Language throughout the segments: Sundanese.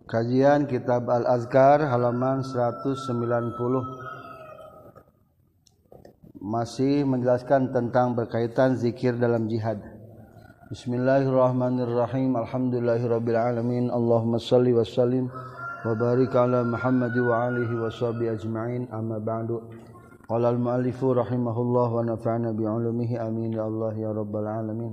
Kajian Kitab Al-Azkar halaman 190 masih menjelaskan tentang berkaitan zikir dalam jihad. Bismillahirrahmanirrahim. Alhamdulillahirabbil alamin. Allahumma shalli wa sallim wa barik ala Muhammad wa alihi washabihi ajmain. Amma ba'du. Qala al-muallifu rahimahullah wa nafa'ana bi 'ulumihi amin ya Allah ya rabbal alamin.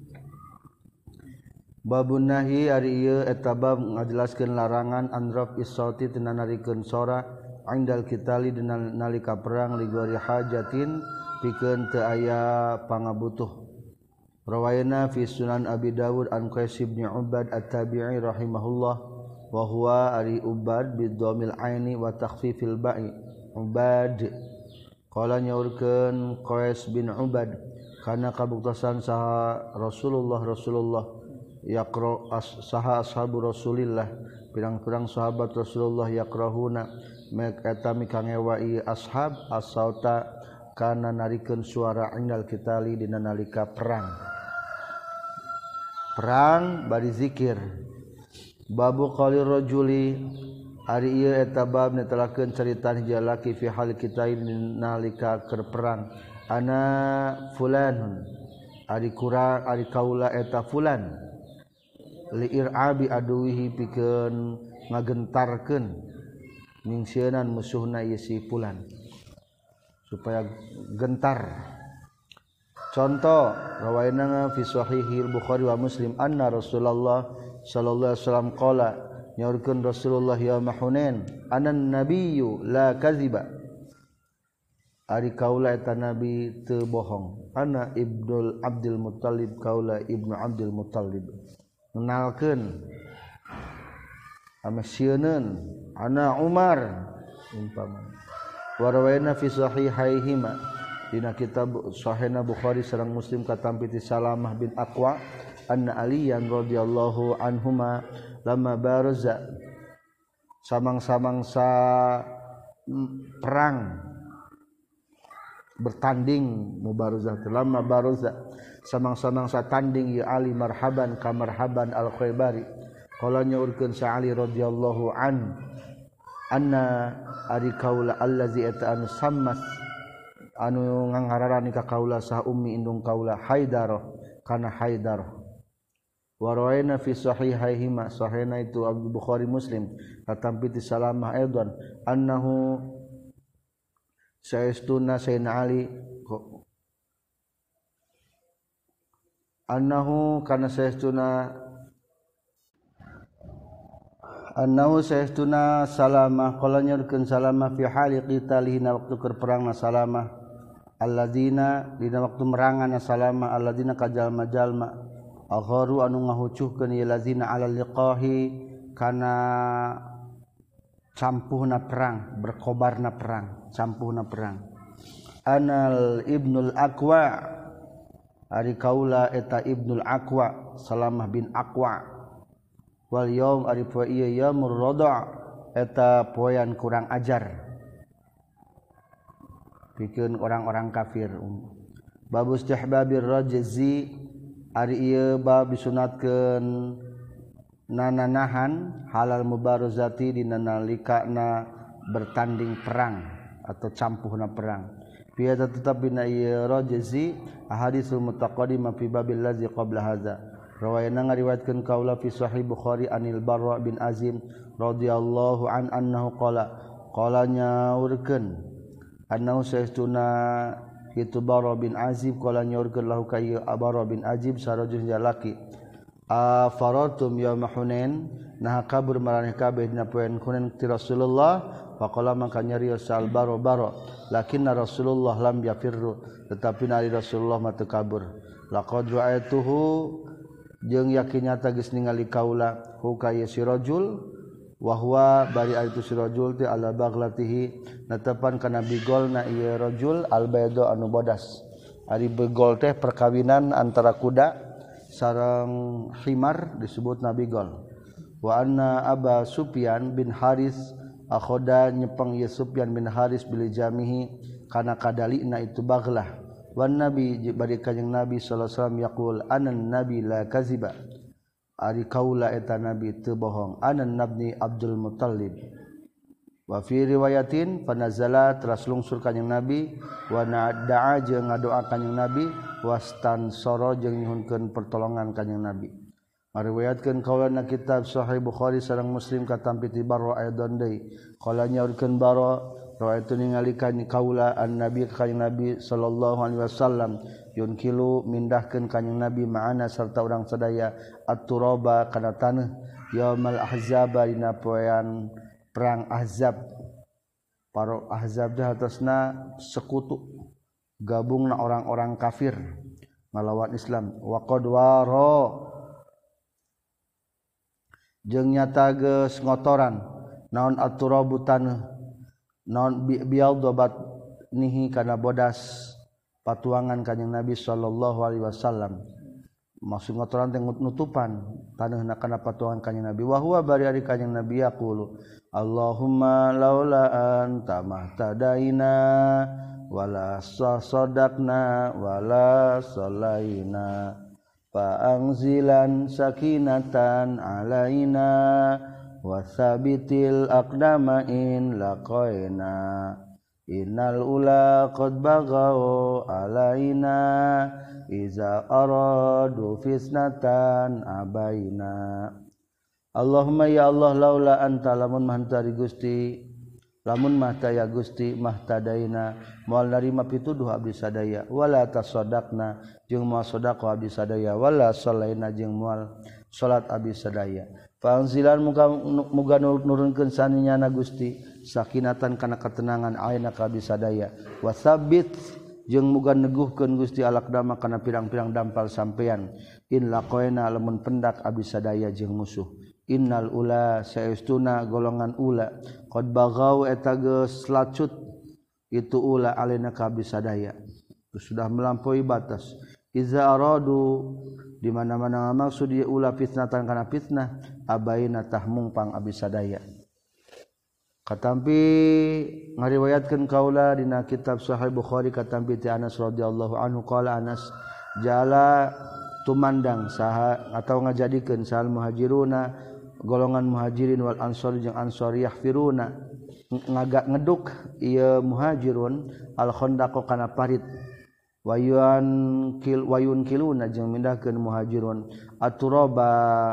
Babun nahi ari ieu eta bab ngajelaskeun larangan anraf is-sauti tina narikeun sora indal qitali dina nalika perang li ghairi hajatin pikeun teu aya pangabutuh. Rawayana fi Sunan Abi Dawud an Qais bin Ubad at-Tabi'i rahimahullah wa huwa ari Ubad bi dhammil aini wa takhfifil ba'i Ubad qala nyaurkeun Qais bin Ubad kana kabuktosan saha Rasulullah yaqra saha ashabu Rasulillah pirang-pirang sahabat Rasulullah yaqrahuna mek eta mikangewai ashab as-sauta kana narikeun suara indal qitali dina nalika perang bari zikir. Babu qali rajuli ari ieu eta bab netelakeun carita hiji lalaki fi hal qitali nalika keur perang ana fulanun ari kaula eta fulan li'irabi aduwihi pikeun ngagentarkeun ningsieunana musuhna ieu si fulan supaya gentar. Contoh rawayana fi sahihil Bukhari wa Muslim anna Rasulullah sallallahu alaihi wasallam qala nyaurkeun Rasulullah yauma Hunain anan nabiyyu la kadziba ari kaula eta nabi teu bohong ana ibnul Abdul Muttalib kaula ibnu Abdul Muttalib mengenalkan amasieun ana Umar umpama warawayna fi sahihaihima dina kitab sahihna Bukhari sareng Muslim katampi ti Salamah bin Aqwa anna Aliyan radhiyallahu anhuma lamma baraza samang-samang sa perang bertanding mubarazah lamma baraza samang-samang satanding ya Ali marhaban ka marhaban al-Khaybari qala nyaurkeun sa Ali radhiyallahu anna ari kaula allazi ata'an sammas anu ngangararani ka kaula sah ummi indung kaula Haidar kana Haidar wa rawayna fi sahihaihima sahihna itu Abu Bukhari Muslim katampi ti Salamah aidan annahu saestuna sayyidina Ali annahu kana saestuna Salamah qala nyurkeun Salamah fi hali qitalina waktu keur perangna Salamah alladzina dina waktu merangana Salamah alladzina kajalma-jalma agharu anu ngahucuhkeun ieu lazina ala liqahi kana campuhna perang berkobarna perang campuhna perang anal ibnul Aqwa ari kaula eta ibnul Aqwa Salamah bin Aqwa wal yaum ari poe ieu yaumur rada eta poean kurang ajar pikeun orang-orang kafir. Babu istihbabir rajzi ari ieu bab disunatkeun nananahan halal mubarazati dina nalikana bertanding perang atau campuhna perang. Biada tetap bina ieu rajzi ahaditsul mutaqaddimah fi babil ladzi qabla hadza. Rawayana ngariwayatkeun kaula fi sahih Bukhari anil Barra bin Azim radhiyallahu anhu qala nyaurkeun annahu saestuna itu Barra bin Azib qala nyaurkeun lahu ka ieu Barra bin Azib sarajul jalaki afaratum yauma Hunain nah kabur maraneh kabeh dina poean Hunain ti Rasulullah faqala maka nyarios sal Barra lakinna Rasulullah lam yafirru tetapi nari Rasulullah mah teu kabur laqad ra'aituhu jeung yakin nyata geus ningali kaula hu ka ieu si rajul wa huwa bari itu si rajul teh ala baghlatihi natepan kana bigolna ieu rajul al bayda anu bodas ari begol teh perkawinan antara kuda sareng himar disebutna bigol wa anna Aba Sufyan bin Haris akhoda nyepeng ieu Sufyan bin Haris bil jamihi kana kadalina itu baghlah wan nabi bari kanjing nabi sallallahu alaihi wasallam yaqul anan nabi la kaziba ari kaula eta nabi teu bohong anan nabni Abdul Muttalib wa fi riwayatin panazala teras lungsur kanjing nabi wa da'a jeung ngadoa kanjing nabi wastan soro jeung nyuhunkeun pertolongan kanjing nabi ngariwayatkeun kaulana kitab Sahih Bukhari sareng Muslim katampi ti Barra aidon deui qala nyaurkeun Barra rawaitu ningali kaula an nabi kanjing nabi sallallahu alaihi wasallam yunkilu mindahkeun kanjing nabi ma'ana sarta urang sadaya at-turaba kana taneuh yaumul ahzab dina poean perang Ahzab. Para Ahzab dah atasna sekutu gabungna orang-orang kafir ngalawan Islam wa qad waro jeung nyata geus ngotoran naon at-turabu taneuh naon bial dobat nihi kana bodas patuangan kanjing Nabi sallallahu alaihi wasallam maksud ngotoran teh nutupan taneuhna kana patuangan kanjing Nabi wa huwa bari ari kanjing Nabi yaqulu Allahumma laula anta mahtadaina wala sadaqna wala salaina fa'anzilan sakinatan alaina wasabitil aqdama in laqaina innal ula qad baghaw alaina iza aradu fisnatan abaina Allahumma ya Allah laula anta lamun mahantari Gusti lamun mahtaya Gusti mahtadaina moal narima pituduh abdi sadaya wala tasaddaqna jeung moal sedekah abdi sadaya wala salaina jeung moal salat abdi sadaya Fa'anzilan muga nurunkeun saninyana Gusti sakinatan kana ketenangan aina ka abdi sadaya wasabbit jeung muga neguhkeun Gusti alaqdama kana pirang-pirang dampal sampean in laqaina lamun pendak abdi sadaya jeung musuh innal ula saestuna golongan ula qad baghaw eta geus lacut itu ula alena ka abdi sadaya sudah melampaui batas iza aradu di mana-mana maksud dia ula fitnatan kana fitnah abaina tahmungpang abdi sadaya katampi ngariwayatkeun kaula dina kitab Sahih Bukhari katampi ti Anas radhiyallahu anhu qala Anas jala tumandang saha atau ngajadikeun sahal muhajiruna golongan muhajirin wal ansor jeung ansor yahfiruna ngeduk ieu muhajirun al khandaq kana parit wayun kiluna jeung mindahkeun muhajirun aturaba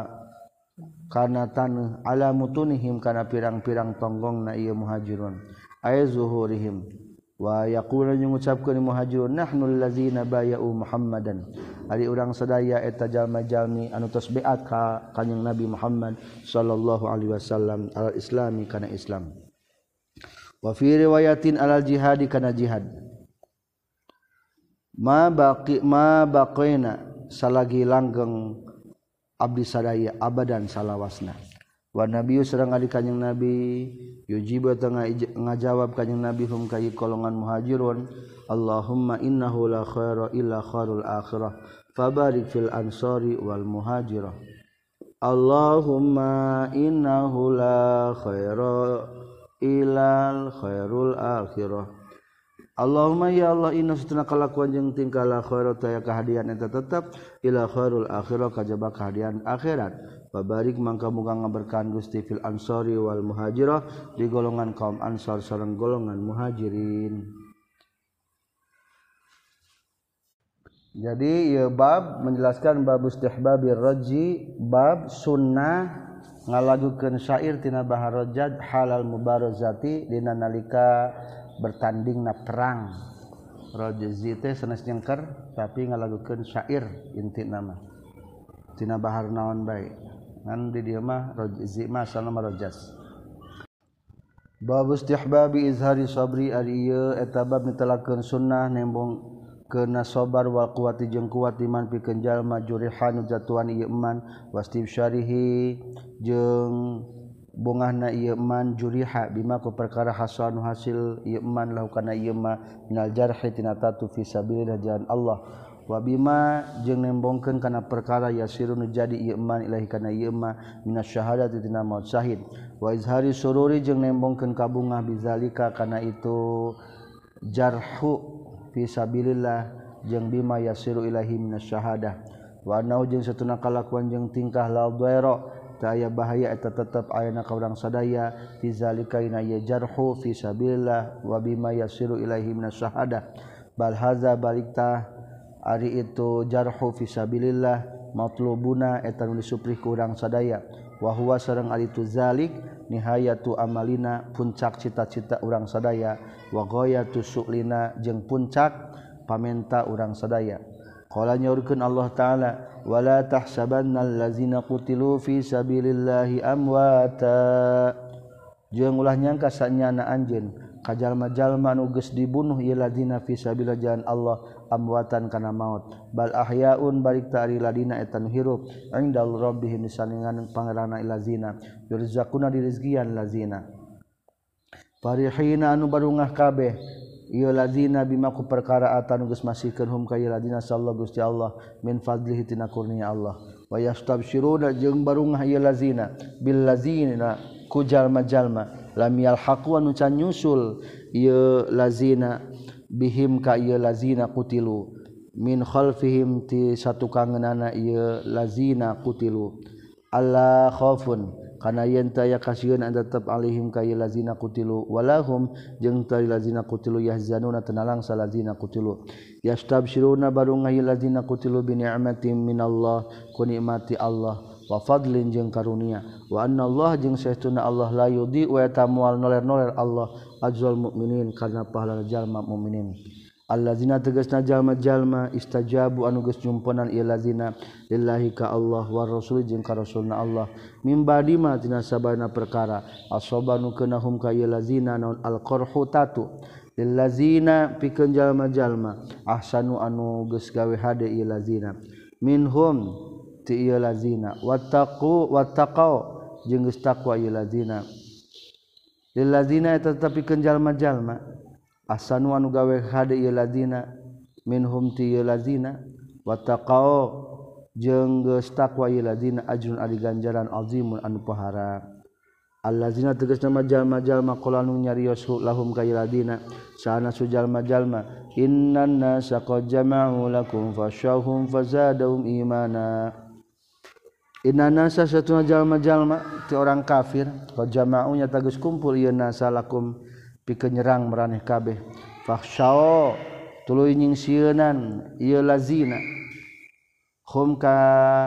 kana taneuh ala mutunihim kana pirang-pirang tonggongna ieu muhajirun ay zuhurihim wa yaqulu ngucapkeun muhajirun nahnu allazina bay'u Muhammadan ari urang sadaya eta jalma-jalmi anu tos beat ka kanjing Nabi Muhammad sallallahu alaihi wasallam al islami kana Islam wa fi riwayatin alal jihadi kana jihad ma baqina salagi langgeng abdi sadaya abadan salawasna wa nabiyyu sareng ari kanjing Nabi yujibu tengah ngajawab kanjing Nabi hum kai golongan muhajirun Allahumma innahu la khaira illa khairul akhirah fabarik fil ansari wal muhajirah Allahumma innahu la khaira illa khairul akhirah Allahumma ya Allah inna satuna kalakuan jeung tingkah la khairat aya kahadian eta tetep ila khairul akhirah kajaba kahadian akhirat babarik mangka muga ngaberkahan Gusti fil ansari wal muhajirah di golongan kaum ansar sareng golongan muhajirin. Jadi ieu bab menjelaskan bab istihbabir raji bab sunnah ngalagukeun syair tina bahar rajad halal mubarazati dina nalika bertandingna perang rajzi teh sanes nyengker tapi ngalagukeun syair intina mah tina bahar naon bae ngan di dieu mah rajzi mah asalna mah rajas bab istihbabi izhari sabri ari ieu eta bab netelakeun sunnah nembong keuna sabar wal quwati jeung kuat iman pikeun jalma jurihan jatuan ieu iman wastibsyarihi jeung bongahna ieu man juriha bima ku perkara hasan hasil ieu man lahu kana ieu ma minal jarhi tina tatu fi sabilillah jalan Allah wa bima jeung nembongkeun kana perkara yasirun jadi ieu man ilahi kana ieu ma minasyahadati tina maut syahid wa izhari sururi jeung nembongkeun kabungah bizalika kana itu jarhu fi sabilillah jeung bima yasiru ilahi minasyahadah wa annahu jeung satuna kalakuan jeung tingkah la dhaira teu aya bahaya eta tetep ayana ka urang sadaya fi zalika ina ya jarhu fi sabilillah wa bima yasiru ilaihi minas syahadah bal hadza balikta ari itu jarhu fi sabilillah matlubuna eta nu disuprih ku urang sadaya wa huwa sareng ari tu zalik nihayatu amalina puncak cita-cita urang sadaya wa ghayatu su'lina jeung puncak pamenta urang sadaya qala nyaurkeun Allah taala wala tahsabannal ladzina qutilu fi sabilillahi amwata jeung ulah nyangka sanyana anjeun ka jalma-jalma anu geus dibunuh ieu ladzina fi sabilillah jalan Allah amwatan kana maut bal ahyaun balik ta'ari ladina eta nu hirup indal rabbihim saningan pangeranna ilazina yurzaquna dirizqian lazina farihina anu barungah kabeh ieu lazina bima ku perkara atan geus masihkeun hum ka ieu ladina sallallahu Gusti Allah min fadlihi tina kurnia Allah wa yastabsyiruna jeung barungah ieu lazina bil lazina ku jalma-jalma lam yalhaqu anu can nyusul ieu lazina bihim ka ieu lazina qutilu min khalfihim ti satukangeunana ieu lazina qutilu alla khaufun kana yen teu aya kasieun tetep alaihim ka ieu lazina qutilu walahum jeung teu lazina qutilu yahzanuna tenalang salazina qutilu yastabsyiruna barungah ieu lazina qutilu bi ni'matin minallah ku nikmati Allah wa fadlin jeung karunia wa annallaha jeung saestuna Allah la yudhi wa tamual noler-noler Allah ajrul mukminin kana pahala jalma mukminin allazina tegasna jalma-jalma istajabu anu geus nyumpenan ieu lazina lillahi ka Allah wa rasul jeung ka rasulna Allah mim badi ma tina sabana perkara asobanu kenahum ka ieu lazina naun alqarhu tatu lillazina pikeun jalma-jalma ahsanu anu geus gawe hade ieu lazina minhum ti ieu lazina wattaqau jeung geus taqwa ieu lazina lil lazina eta tetepikeun jalma-jalma ahsanu anu gawe hade ieu lazina minhum ti ieu lazina wattaqau jeung geus taqwa ieu lazina ajrun ari ganjaran azimun anu pahara allazina tegasna jalma-jalma qala anu nyarios lahum ka ieu lazina sana su jalma-jalma innan nasa qad jama'u lakum fashawhum fazadahum imana inna nasa satuna jalma-jalma ti orang kafir qad jama'u nya tagus kumpul ieu nasa lakum pikeun nyerang maraneh kabeh fakhshaw tuluy nyingsieunan ieu lazina hum ka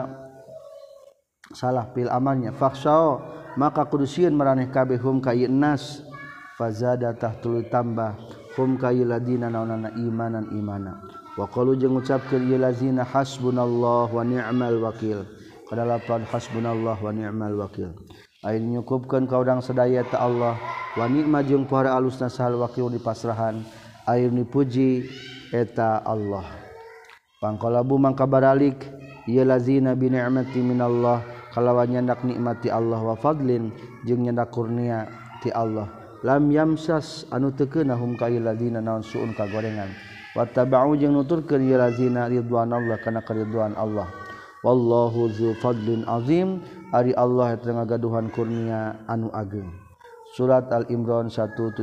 salah pil amannya fakhshaw maka kudu sieun maraneh kabeh hum ka ieu nas fazada tah tuluy tambah hum ka ieu ladina naunana imanan imana wa qalu jeung ngucapkeun ieu lazina hasbunallah wa ni'mal wakil kadalapan hasbunallah wa ni'mal wakil ain nyukupkeun ka urang sadaya ta Allah wa ni'ma jeung para alusna sahal wakil dipasrahan ain dipuji eta Allah pangqalabu mangka baralik ieu lazina bi ni'mati minallah kalawan nyandak nikmati Allah wa fadlin jeung nyandak kurnia ti Allah lam yamsas anu teu keunahum ka ieu lazina naon suun kagorengan wa tabau jeung nuturkeun ieu lazina ridwanallah kana karidwan Allah wallahu dzu fadlin azim ari Allah eta ngagaduhan kurnia anu ageng surat al-imran 172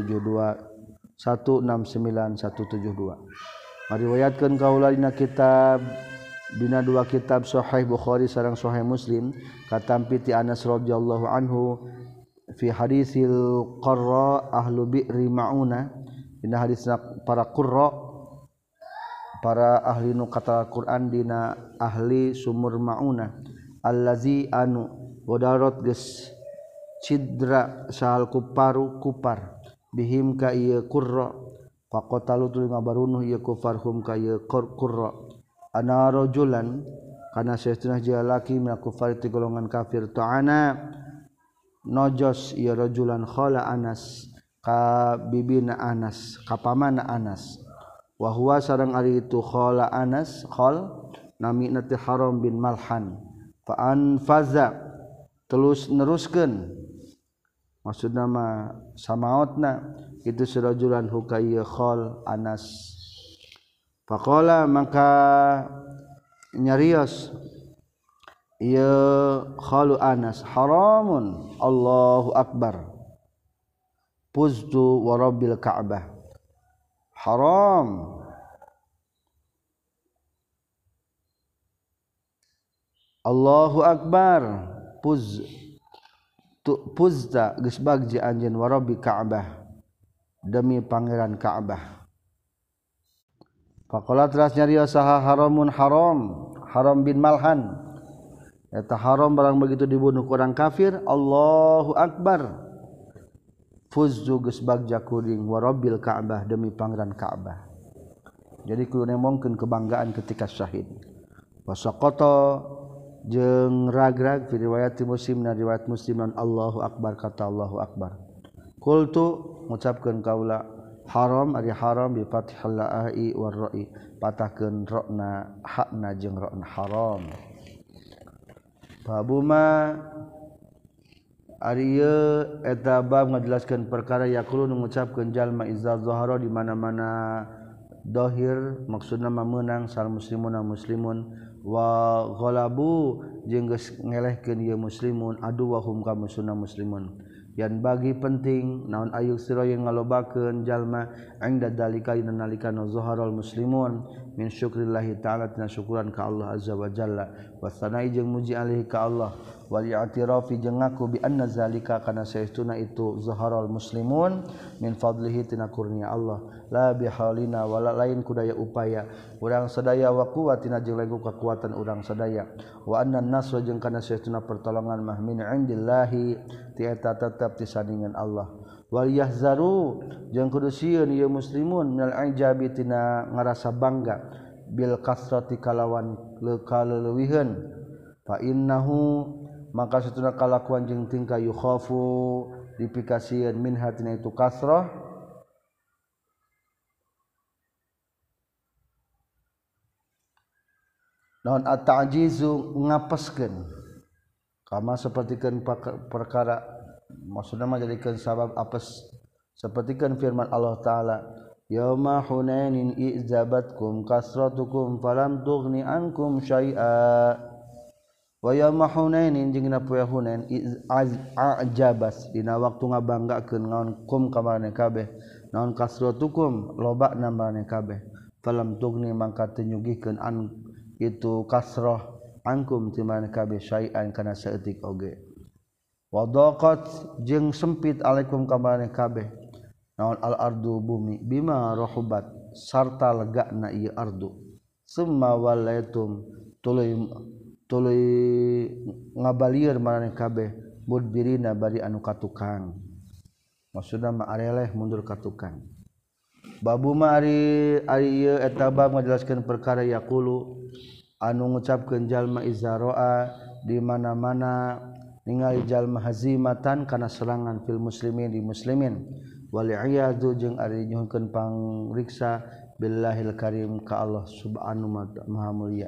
169 172 ngariwayatkeun kaula dina kitab dina dua kitab sahih Bukhari sareng sahih Muslim katampi ti Anas radhiyallahu anhu fi hadisil qurra ahlu bi'ri mauna dina hadisna para qurra para ahli nu kata Quran dina ahli sumur mauna allazi anu godarot geus cidra sahal kuparu kupar bihim ka ieu qurra faqatalu tuluy ngabarunuh ieu kufarhum ka ieu qurra ana rajulan kana saestuna jalaki min kufar ti golongan kafir ta'ana nojos ieu rajulan khala Anas ka bibina Anas ka pamana Anas wa huwa sareng ari itu khala Anas khal namina ti Haram bin Malhan fa anfaza terus neruskeun maksudna mah samaotna itu sirajulan hukaya khal Anas faqala maka nyarios ieu khalu Anas haramun Allahu akbar puztu wa rabbil ka'bah haram Allahu akbar puzta geus bagji anjeun wa rabbi Ka'bah demi pangeran Ka'bah. Faqala teras nyarios saha haram bin Malhan eta haram barang begitu dibunuh ku urang kafir. Allahu akbar fuzzu geus bagja kuring wa rabbil Ka'bah demi pangeran Ka'bah. Jadi kudu nemongkeun kebanggaan ketika syahid. Wasaqata jeung ragrag fi riwayat Muslim na riwayat Muslim Allahu akbar kata Allahu akbar. Qultu ngucapkeun kaula haram ari haram bi fathil la'i war ra'i patahkeun ra'na hakna jeung ra'na haram. Babuma ari ieu eta bab ngajelaskeun perkara yaqulu ngucapkeun jalma iza zahara di mana-mana dohir maksudna meunang sal muslimuna muslimun wa ghalabu jeung geus ngelehkeun ieu muslimun aduwahum ka musuhna muslimun. Yan bagi penting naon ayuk sira yang ngalobakeun jalma ingda dalika nalika zaharal muslimun min syukrillahi ta'ala tina syukuran ka Allah azza wa jalla wa sanai jeung muji alaihi ka Allah wal i'tirafi jeung ngaku bi anna zalika kana saestuna itu zaharal muslimun min fadlihi tina kurnia Allah la bihalina wala lain kudaya upaya urang sadaya wa quwwatina jeung legu kekuatan urang sadaya wa anna nasra jeung kana saestuna pertolongan mah min indillahi ti eta tetep ti sandingan Allah wal yahzaru jeung kudu sieun ieu muslimun minal ijabi tina ngarasa bangga bil kasrati kalawan kaleuweuhan fa innahu maka satuna kalakuan jeung tingkah yukhafu dipikasieun min hatina itu kasrah naon at-ta'jizu ngapeskeun kama sapertikeun perkara maksudna mah jadikeun sabab apes sapertikeun firman Allah taala yauma hunainin izabatkum kasratukum falam tughni ankum syai'a wa yauma hunainin jeung dina poe Hunain a'jabas dina waktu ngabanggakeun naon kum ka maneh kabeh naon kasratukum lobana maneh kabeh falam tughni mangka teu nyugihkeun an itu kasrah angkum ti maneh kabeh syai'an kana saeutik oge wadaqat jeung sempit alaikum ka maneh kabeh naon al ardu bumi bima rahubat sarta legana ieu ardu summa walaitum tuluy ngabalieur maneh kabeh mudbirina bari anu katukang maksudna mah areleh mundur katukang babu mah ari ieu eta bab ngajelaskeun perkara yaqulu anu ngucapkeun jalma izaroa di mana-mana ningali jalma hazimatan kana serangan fil muslimin di muslimin wal iyadu jeung ari nyuhkeun pangriksa billahil karim ka Allah subhanahu maha mulia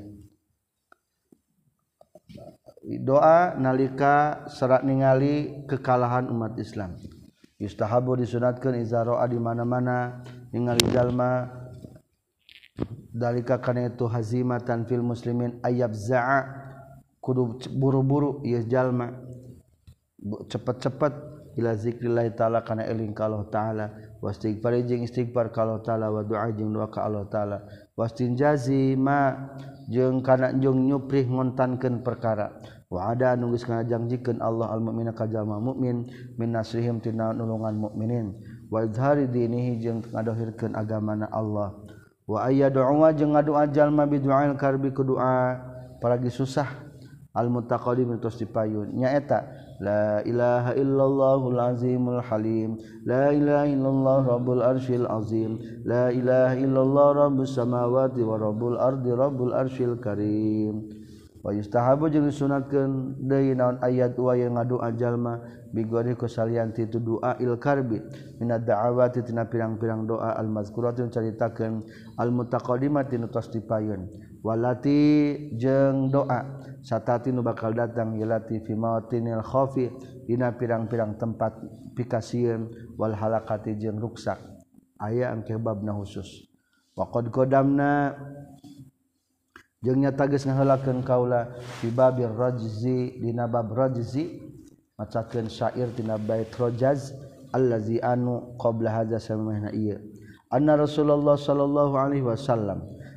doa nalika serat ningali kekalahan umat Islam yustahabu disunatkeun izaroa di mana-mana ningali jalma dalika kana itu hazimatan fil muslimin ayabza'a kudu buru-buru ieu jalma cepet-cepet ila zikrillah taala kana eling ka Allah taala wastighfar jeung istighfar ka Allah taala wa doa jeung doa ka Allah taala wastinjazi ma jeung kana jeung nyuprih ngontankeun perkara wa ada anu geus ngajangjikeun Allah al mukmina ka jalma mukmin min nasrihim tina nulungan mukminin wa izhari dinihi jeung ngadohirkeun agamana Allah wa ayyadu jeung ngadoa jalma bi du'ail karbi ku doa paragi susah al mutaqaddim tos dipayun nyaeta la ilaha illallahul azimul halim la ilaha illallah rabbul arsyil azim la ilaha illallah rabbus samawati wa rabbul ardi rabbul arsyil karim wa yustahabu jeung disunatkeun deui naon ayat wa yang ngadoa jalma bigori kusalian ti tu doa il karbi minad da'awati tina pirang-pirang doa al mazkuratun caritakeun al mutaqaddimati nu tos dipayun walati jeung doa satati nu bakal datang yalati fi mawatinil khafi dina pirang-pirang tempat pikasieun wal halakati jeung ruksak aya engke babna khusus wa qad qadamna jeung nyata geus ngaheulakeun kaula fi babir rajzi dina bab rajzi macakeun syair tina bait rajaz allazi anu qabla hadza samahna ieu anna Rasulullah sallallahu alaihi wasallam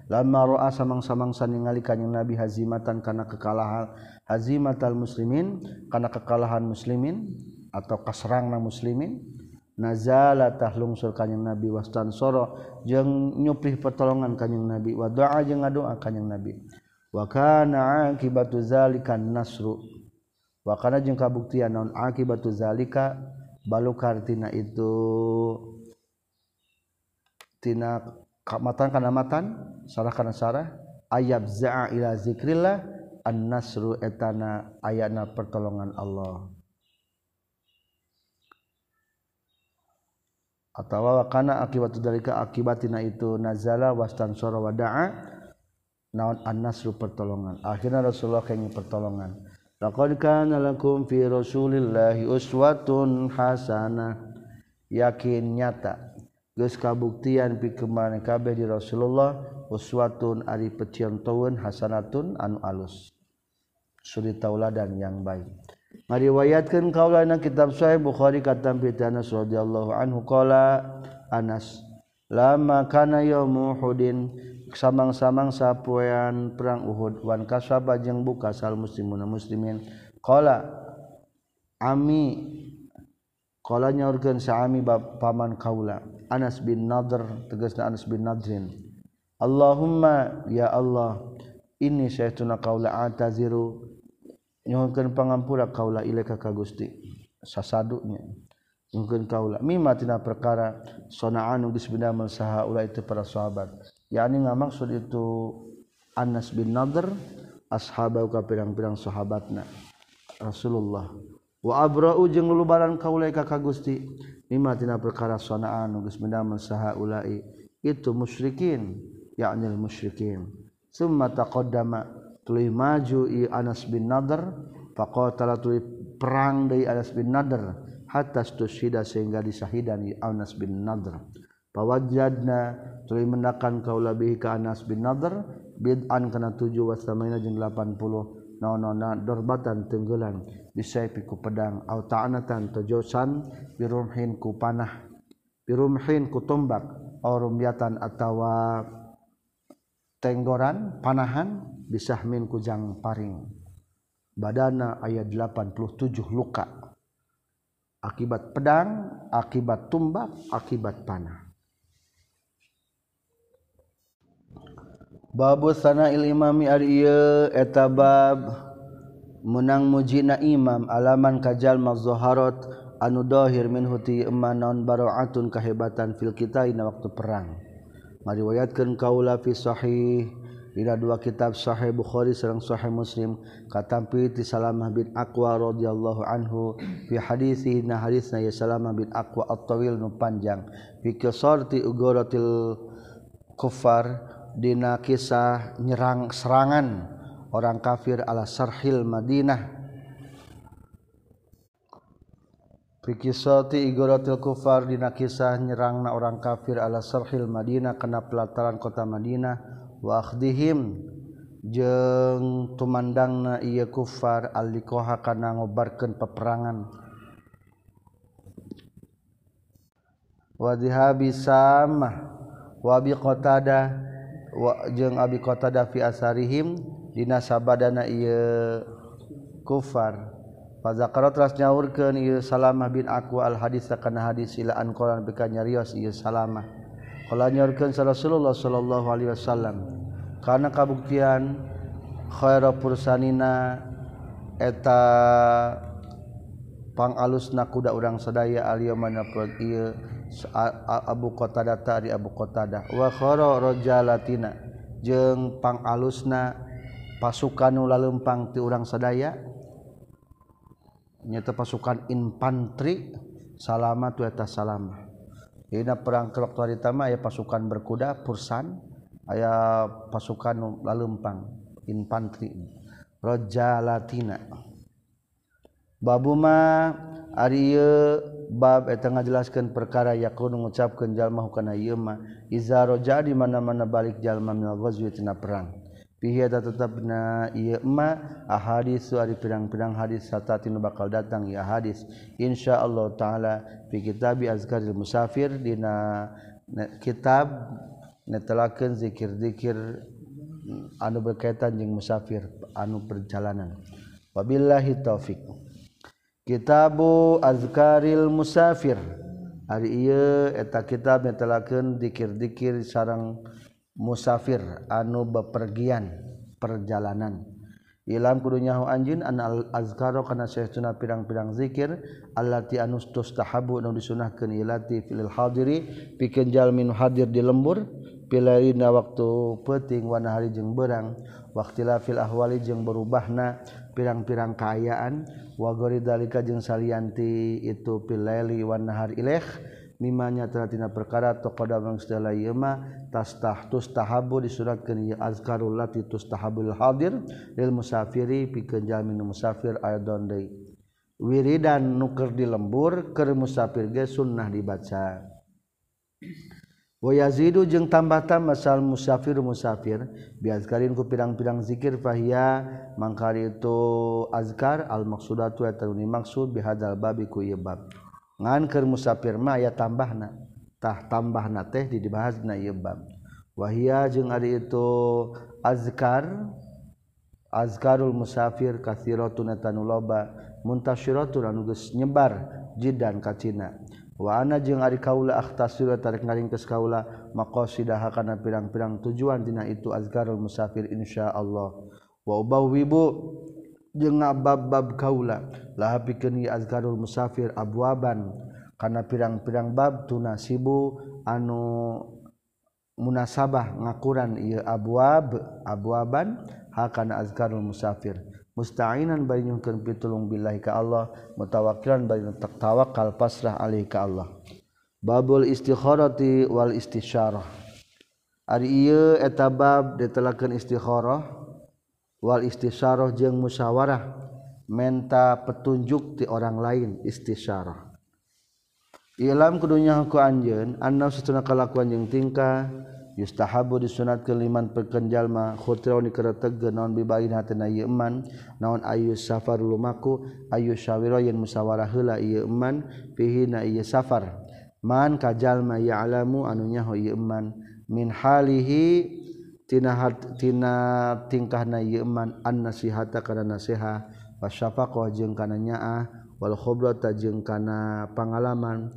lamma ra'a samang-samangsa ningali kanjing Nabi hazimatan kana kekalahan hazimatal muslimin kana kekalahan muslimin atau kasrangna muslimin nazala tahlungsur kanjing Nabi wastansara jeung nyuprih pertolongan kanjing Nabi wa doa jeung ngadoa kanjing Nabi wa kana akibatu zalika nasru wa kana jeung kabuktian naon akibatu zalika balukar tina itu tina kamatan kana matan sarah kana sarah ayab za'a ila zikrillah an-nasru etana ayana pertolongan Allah atawa kana akibatu dalika akibatina itu nazala wastansara wada'a naon an-nasru pertolongan akhirna Rasulullah kenging pertolongan laqad kana lakum fi rasulillahi uswatun hasanah yakin nyata geus kabuktian pikeun kabeh di Rasulullah uswatun ari peciontoeun hasanatun anu alus suri tauladan yang baik ngariwayatkeun kaulana kitab Sahih Bukhari katam bi Anas radhiyallahu anhu qala Anas lama kana yaum Uhudin samang-samang sapoean perang Uhud wan kasaba jeung buka sal muslimun muslimin qala ami qala nyaurkeun sa ami paman kaula Anas bin Nadr tegasna Anas bin Nadrin Allahumma ya Allah inni syaituna kaula ataziru nyuhunkeun pangampura kaula ilaika ka Gusti sasadunya nyuhunkeun kaula mimma tina perkara sana'an geus bidamel saha ulah itu para sahabat yakni ngamaksud itu Anas bin Nadr ashabau ka pirang-pirang sahabatna Rasulullah wa abra'u jeung lulubaran kaula ka Gusti mimma tina perkara sana'an geus bidamel saha ulai itu musyrikin yakni musyrikin summa taqaddama tuluy maju i Anas bin Nadr faqatala tuluy perang deui Anas bin Nadr hatta stushida sehingga disahidan i Anas bin Nadr pawajadna tuluy mendakan kaula bihi ka Anas bin Nadr bid'an kana 7 wa samaina jeung 80 naonana dorbatan tenggelan bisayfi ku pedang au ta'anatan tojosan birumhin ku panah birumhin ku tombak au rumyatan atawa tenggoran panahan bisahmin ku jang paring badana ayat 87 luka akibat pedang akibat tumbak akibat panah babu sana'il imami ari ieu eta bab menang mujina imam alaman kajal mazharat anu dhahir minhu ti emanon bara'atun kahebatan fil kita ina waktu perang mariwayatkeun kaula fi sahih dina dua kitab Sahih Bukhari sareng Sahih Muslim katampi ti Salamah bin Aqwa radhiyallahu anhu fi hadisi na hadisna ya Salamah bin Aqwa at-tawil nu panjang fi qisarti ugaratil kuffar dina kisah nyerang serangan orang kafir ala sarhil Madinah fi qisati igaratil kufar dina kisah nyerangna orang kafir ala sarhil Madinah kana pelataran kota Madinah wa akhdihim jeung tumandangna ieu kufar al-liqaha kana ngobarkeun peperangan wa dhihabi samah wa bi Qatadah jeung Abi Qatadah fi asarihim dina sabadana ieu kufar fa zakara teras nyaurkeun ieu Salamah bin Aqwa al hadis kana hadis ila an qalan bika nyarios ieu Salamah qala nyaurkeun Rasulullah sallallahu alaihi wasallam kana kabuktian khairu pursanina eta pangalusna kuda urang sadaya al-yamana ieu Abu Qatadah tadi Abu Qatadah wa khara rajalatina jeung pangalusna pasukan nu laleumpang ti urang sadaya nyata pasukan infanteri Salamah tu eta Salamah dina perang waktu hari tama aya pasukan berkuda pursan aya pasukan nu laleumpang infanteri rajalatina babuma ari ieu bab eta ngajelaskeun perkara yakun ngucapkeun jalma hukana ieu mah iza raja di mana-mana balik jalma minal ghazwi tina perang fihi eta tetepna ieu mah ahadits ari pirang-pirang hadis satati nu bakal datang ieu hadis insyaallah taala fi kitab azkaril musafir dina kitab netelakeun zikir-zikir anu berkaitan jeung musafir anu perjalanan. Wabillahi taufik. Kitabu Azkaril Musafir. Ari ieu eta kitab netelakeun zikir-zikir sareng musafir anu bepergian perjalanan. Ilam kudu nyaho anjeun an azkaro kana saestuna pirang-pirang zikir allati anus tustahabu anu disunahkeun ilati fil hadiri pikeun jalmi nu hadir di lembur pilarina waktu peuting wana hari jeung beurang waqtila fil ahwali jeung berubahna pirang-pirang kaayaan wa gori dalika jeung salianti itu pilaili wan nahar ilaih mimanya tina perkara taqada bang sedaya ieu mah tustahabu disuratkeun ieu azkarul lati tustahabul hadir lil musafiri pikeun jalmi nu musafir aidon deui wiridan nu keur di lembur keur musafir ge sunnah dibaca wa yazidu jeung tambah-tambah sal musafir biazkarin ku pirang-pirang zikir fahiya mangkari itu azkar al maksudatu eta nu maksud bihadzal babi ku ieu bab ngan keur musafir mah aya tambahna tah tambahna teh dibahasna ieu bab wahia jeung ari itu azkarul musafir katsiratun tanu loba muntasyiratun anu geus nyebar jidan ka cina wa ana jeung ari kaula akhtasiru tarik ngaringkeus kaula maqasidah kana pirang-pirang tujuan dina itu azkarul musafir insyaallah wa ubawwibu jeung bab-bab kaula laha pikeun ieu azkarul musafir abwaban kana pirang-pirang bab tunasibu anu munasabah ngakuran ieu abwaban hakana azkarul musafir musta'inan bari nyuhkeun pitulung billahi ka Allah mutawakkilan bari tawakkal pasrah alaihi ka Allah babul istikharati wal istisyarah ari ieu eta bab ditelakeun istikharah wal istisyarah jeung musyawarah menta petunjuk ti orang lain istisyarah ilam kudunya ku anjeun anna satuna kalakuan jeung tingkah yustahabu disunatkeun liman pikeun jalma khutrauni keretegkeun naon bibain hatena ieu eman naon ayu safar lumaku ayu syawira yen musyawarah heula ieu eman fihi na ieu safar man ka jalma ya'lamu anu nyaho ieu eman min halihi tina tingkahna ieu eman an nasihata kana nasiha wasyafaqah jeung kana nyaah wal khibrata jeung kana pangalaman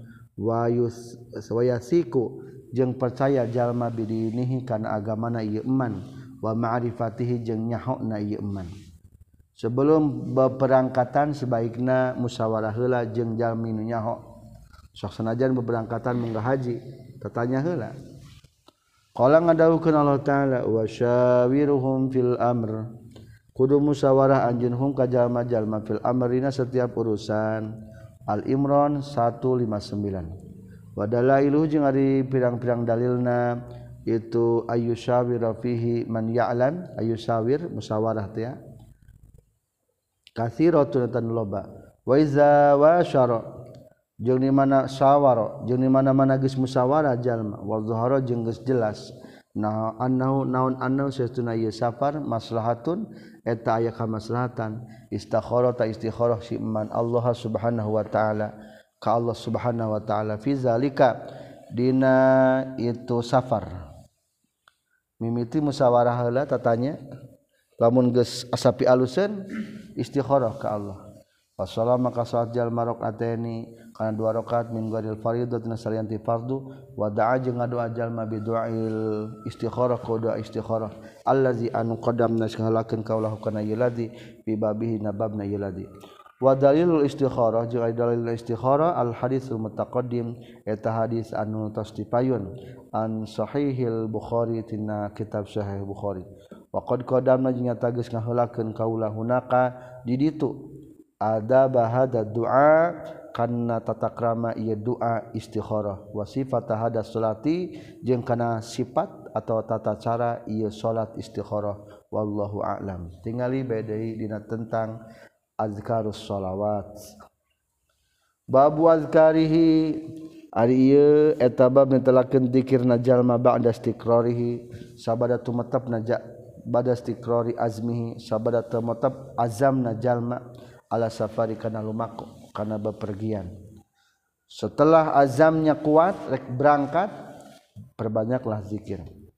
wayasiku jeung percaya jalma bidinihi kana agamana ieu eman wa ma'rifatihi jeung nyahona ieu eman sebelum beperangkatan sebaikna musyawarah heula jeung jalmi nu nyaho sok sanajan beberangkatan munggah haji tatanya heula qala ngadawukeun Allah taala wa syawiruhum fil amr kudu musyawarah anjeun hum ka jalma-jalma fil amrina setiap urusan Al-Imran 159 wa dalailu jeung ari pirang-pirang dalilna itu ayyusyawira fihi man ya'lam ayyusawir musyawarah teh ya katsiratun tan loba wa iza wasyara jeung di mana sawara jeung di mana-mana geus musyawarah jalma wa zahara jeung geus jelas nah naon saestuna ieu safar maslahatun eta aya kamaslahatan istikharah ta istikharah si man Allah subhanahu wa taala ka Allah subhanahu wa taala fi zalika dina itu safar mimiti musyawarah heula tatanya lamun geus asapi aluseun istikharah ka Allah wassalam maka salat jalma rakaataini kana 2 rakaat min ghairil fardhu tina salianti fardu wa da'a jeung ngadoa jalma bi du'ail istikharah ka doa istikharah allazi anu qadamna sakalakeun kaulahu kana ieu ladzi bi babihi nababna ieu ladzi wa dalilul istikharah jeung dalil istikharah al haditsul mutaqaddim eta hadis anu tos dipayun an sahihil bukhari tina kitab sahih bukhari wa qad qadamna jeung nyata geus ngaheulakeun kaula hunaka di ditu ada bahada doa karena tata krama ieu doa istikharah wa sifat hada salati jeung kana sifat atau tata cara ieu salat istikharah wallahu a'lam tingali badai dina tentang azkarus shalawat babu azkarihi ari ieu eta bab netelakeun zikirna jalma ba'da istiqrarihi sabada tumetepna ba'da istiqrari azmihi sabada tumetep azamna jalma ala safari kana lumaku kana bepergian setelah azamnya kuat rek berangkat perbanyaklah zikir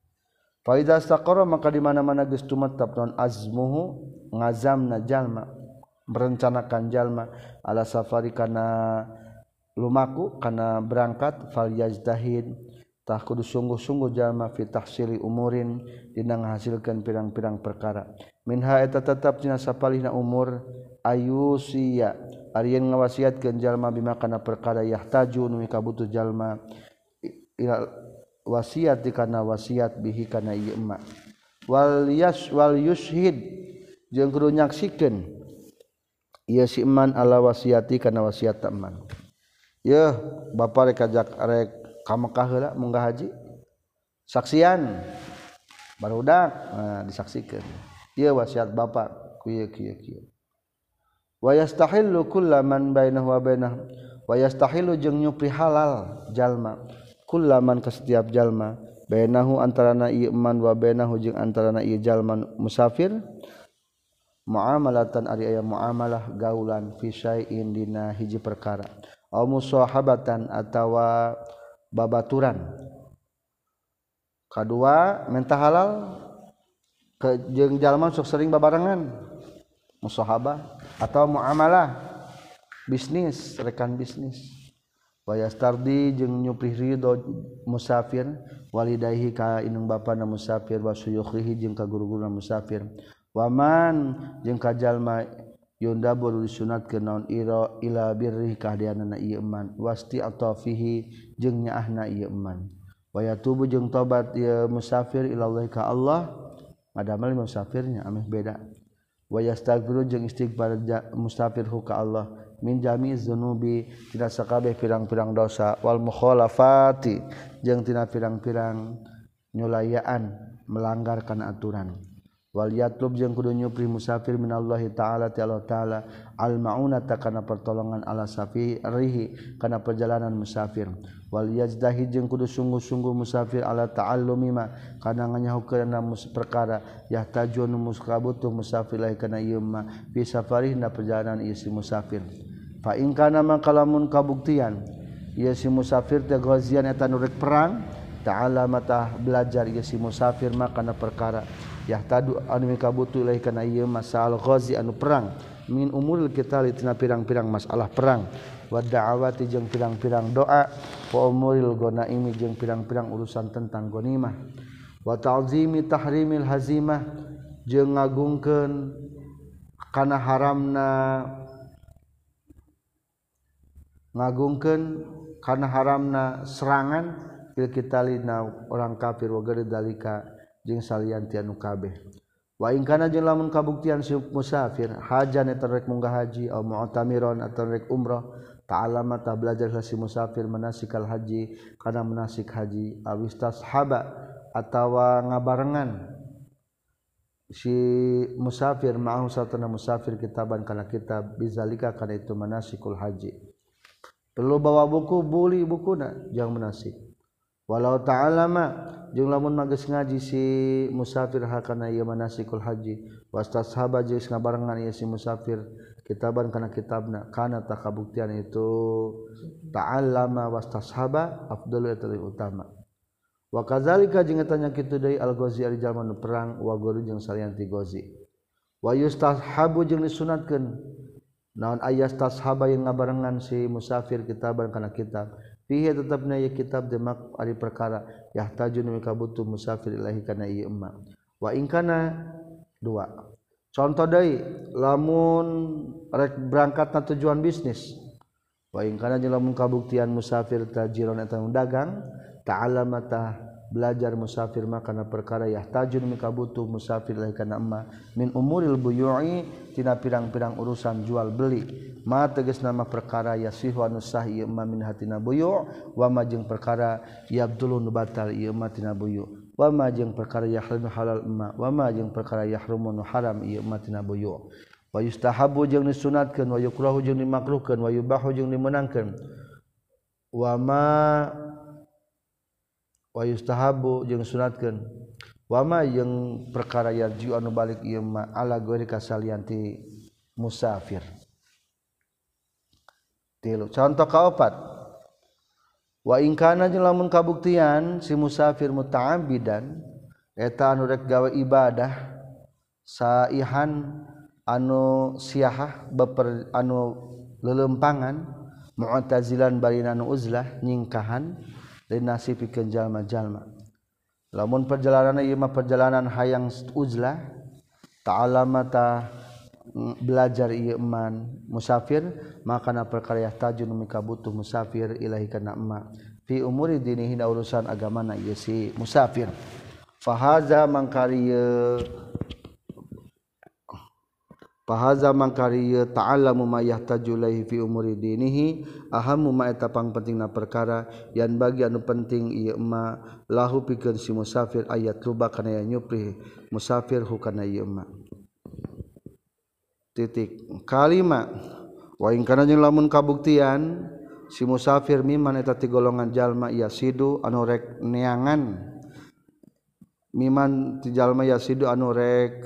fa idza istaqarra maka di mana-mana geus tumetep naon azmuhu ngazamna jalma merencanakan jalma ala safari kana lumaku kana berangkat fal yajdahid tah kudu sungguh-sungguh jalma fi tahsili umurin dina ngahasilkeun pirang-pirang perkara minha eta tetep tina sapalihna umur ayusiya ari yen ngawasiatkeun jalma bima kana perkara yahtaju nu kabutuh jalma ila wasiat kana wasiat bihi kana ieu emma wal yushhid jeung kudu nyaksikeun ieu si eman ala wasiati kana wasiat eman yeuh bapa rek ajak rek ka Mekah heula munggah haji saksian barudak disaksikeun ieu wasiat bapa ku ieu kieu wa yastahillu kullaman bainahu wa bainah wa yastahillu jeung nyupri halal jalma kullaman ka setiap jalma bainahu antarana ieu eman wa bainahu jeung antarana ieu jalma musafir muamalatan ari aya muamalah gaulan fi syai'in dina hiji perkara aw musahabatan atawa babaturan kadua mentah halal ke jeung jalma sok sering babarengan musahabah atau muamalah bisnis rekan bisnis wa yastardi jeung nyupri ridho musafir walidayhi ka indung bapana musafir wa suyukhihi jeung ka guru-guruna musafir waman jeung ka jalma yundabu disunatkeun naon ila birri kahdianana ieu eman wasti atafihi jeung nyaahna ieu eman wa yatubu jeung tobat ieu musafir ila Allah ka Allah ngadamel musafirnya ameh beda wa yastaghfiru jeung istighfar musafir ka Allah min jami'iz dzunubi tina sakabeh pirang-pirang dosa wal mukhalafati jeung tina pirang-pirang nyulayaan melanggar kana aturan wal yatlub jeung kudu nyupri musafir minallahi taala ti Allah taala al maunata kana pertolongan ala safirihi kana perjalanan musafir wal yajdahi jeung kudu sungguh-sungguh musafir ala ta'allumi ma kana nganyahukeunna perkara yahtajun muskabutuh musafir lahi kana ieu ma fi safarihna perjalanan ieu si musafir fa in kana mangkalamun kabuktian ieu si musafir teh ghazian eta nu rek perang ta'ala mata belajar ieu si musafir ma kana perkara yahtadu anu mikabutu ilaih kana ieu masalah ghazi anu perang min umuril qital tina pirang-pirang masalah perang wa da'awati jeung pirang-pirang doa wa umuril ghanaimi jeung pirang-pirang urusan tentang ghanimah wa ta'zimi tahrimil hazimah jeung ngagungkeun kana haramna serangan fil qitalina orang kafir wa gari dalika jeung salianti anu kabeh wa in kana jeung lamun kabuktian si musafir hajan eta rek munggah haji au mu'tamiron atawa rek umrah ta'allama ta belajar si musafir manasikal haji kana manasik haji awistashaba atawa ngabarengan si musafir ma'ahu satana musafir kitaban kana kitab bizalika kana itu manasikul haji perlu bawa buku buli bukuna jeung manasik walau ta'alama jeung lamun mageus ngaji si musafir hakana ieu manasikul haji wastashaba jeung ngabarengan ieu si musafir kitaban kana kitabna kana takabuktian itu ta'allama wastashaba afdalu eta utama wa kadzalika jeung eta nya kitu deui al-ghazi ari jalma nu perang wa guru jeung salianti ghazi wa yustahabu jeung disunatkeun naon ayastashaba yang ngabarengan si musafir kitaban kana kitab fihi tetapna ieu kitab demak ari perkara yahtajun mikabutu musafir ilahi kana ieu emma wa in kana dua contoh deui lamun rek berangkatna tujuan bisnis wa in kana lamun kabuktian musafir tajiron eta dagang ta'allamata belajar musafir makana perkara yahtajun mikabutu musafir ilahi kana emma min umuril buyu'i tina pirang-pirang urusan jual beli ma tegas nama perkara yasih wa nusah ieu ma min hatina buyu' wa ma jeung perkara yabdulu nu batal ieu ma tina buyu' wa ma jeung perkara yahrimu halal ma wa ma jeung perkara yahrumu nu haram ieu ma tina buyu' wa yustahabu jeung disunatkeun wa yukrahu jeung dimakruhkeun wa yubahu jeung dimeunangkeun wa yustahabu jeung sunatkeun wa ma jeung perkara yarji anu balik ieu ma ala ghairi kasalianti musafir. Tilu contoh kaopat wa in kana jeung lamun kabuktian si musafir muta'ambidan eta anu rek gawe ibadah saihan anu siahah beper anu lelempangan mu'tazilan barina anu uzlah nyingkahan linasi pikeun jalma-jalma lamun perjalanan ieu mah perjalanan hayang uzlah ta'alama ta belajar ieu man musafir maka na perkara yahtajun mika butuh musafir ilahi kana emma fi umuri dinihi urusan agamana ieu si musafir fahaza mangkariya ta'allamu ma yahtaju ilaihi fi umuri dinihi ahammu ma eta pangpentingna perkara yan bagi anu penting ieu ma lahu pikeun si musafir ayat luba kana nyupri musafir hukana ieu ma titik kalima wa in kana jeung lamun kabuktian si musafir miman eta ti golongan jalma yasidu anu rek neangan miman ti jalma yasidu anu rek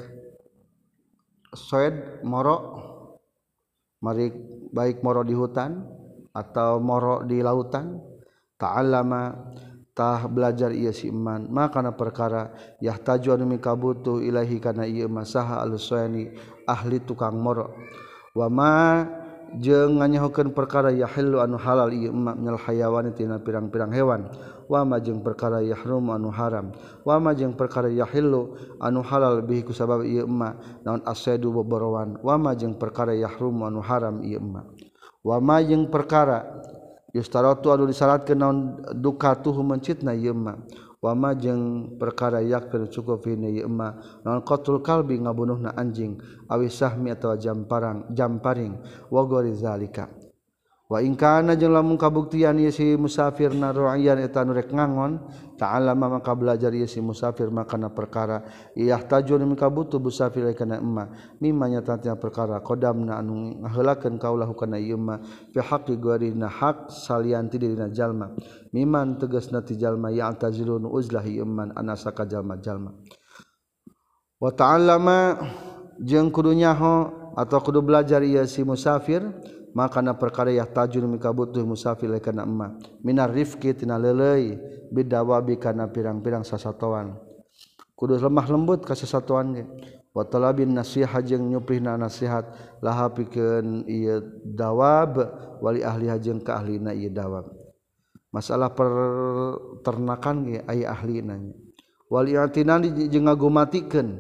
soed moro mari baik moro di hutan atau moro di lautan ta'allama tah belajar ieu si iman maka na perkara yahtaju anu mikabutuh ilahi kana ieu masaha al-sayni ahli tukang moro wa ma jeung nganyahokeun perkara yahillu anu halal ieu ma minal hayawani tina pirang-pirang hewan wa ma jeung perkara yahrum anu haram wa ma jeung perkara yahillu anu halal bihi kusabab ieu ma naon asaidu boborowan wa ma jeung perkara yahrum anu haram ieu ma wa ma jeung perkara yustaratu anu disyaratkeun naon dukatuhu mencitna ieu ma wa ma jeung perkara yakfir cukup hina ieu ma naon qatul kalbi ngabunuhna anjing awi sahmi atawa jamparing wa gori zalika wa in kana jeung lamun kabuktian ieu si musafir na ru'yan eta nu rek ngangon ta'allama maka belajar ieu si musafir makana perkara yahtaju anu mikabutuh musafir kana emma mimma nyata perkara qadamna anu ngaheulakeun kaulahu kana ieu ma fi haqqi gharina haq salianti dina jalma miman tegasna ti jalma ya'tazilun uzlah ieu man anasaka jalma-jalma wa ta'allama jeung kudu nyaho atau kudu belajar ieu si musafir maka na perkara yahtajun mikabutuh musafir kana emma minar rifqi tina leuleuy bidawabi kana pirang-pirang sasatoan kudu lemah lembut ka sasatoan ge wa talabin nasihat jeung nyuprihna nasihat laha pikeun ieu dawab wali ahli jeung ka ahlina ieu dawab masalah peternakan ge aya ahlina wali atinani jeung ngagumatikeun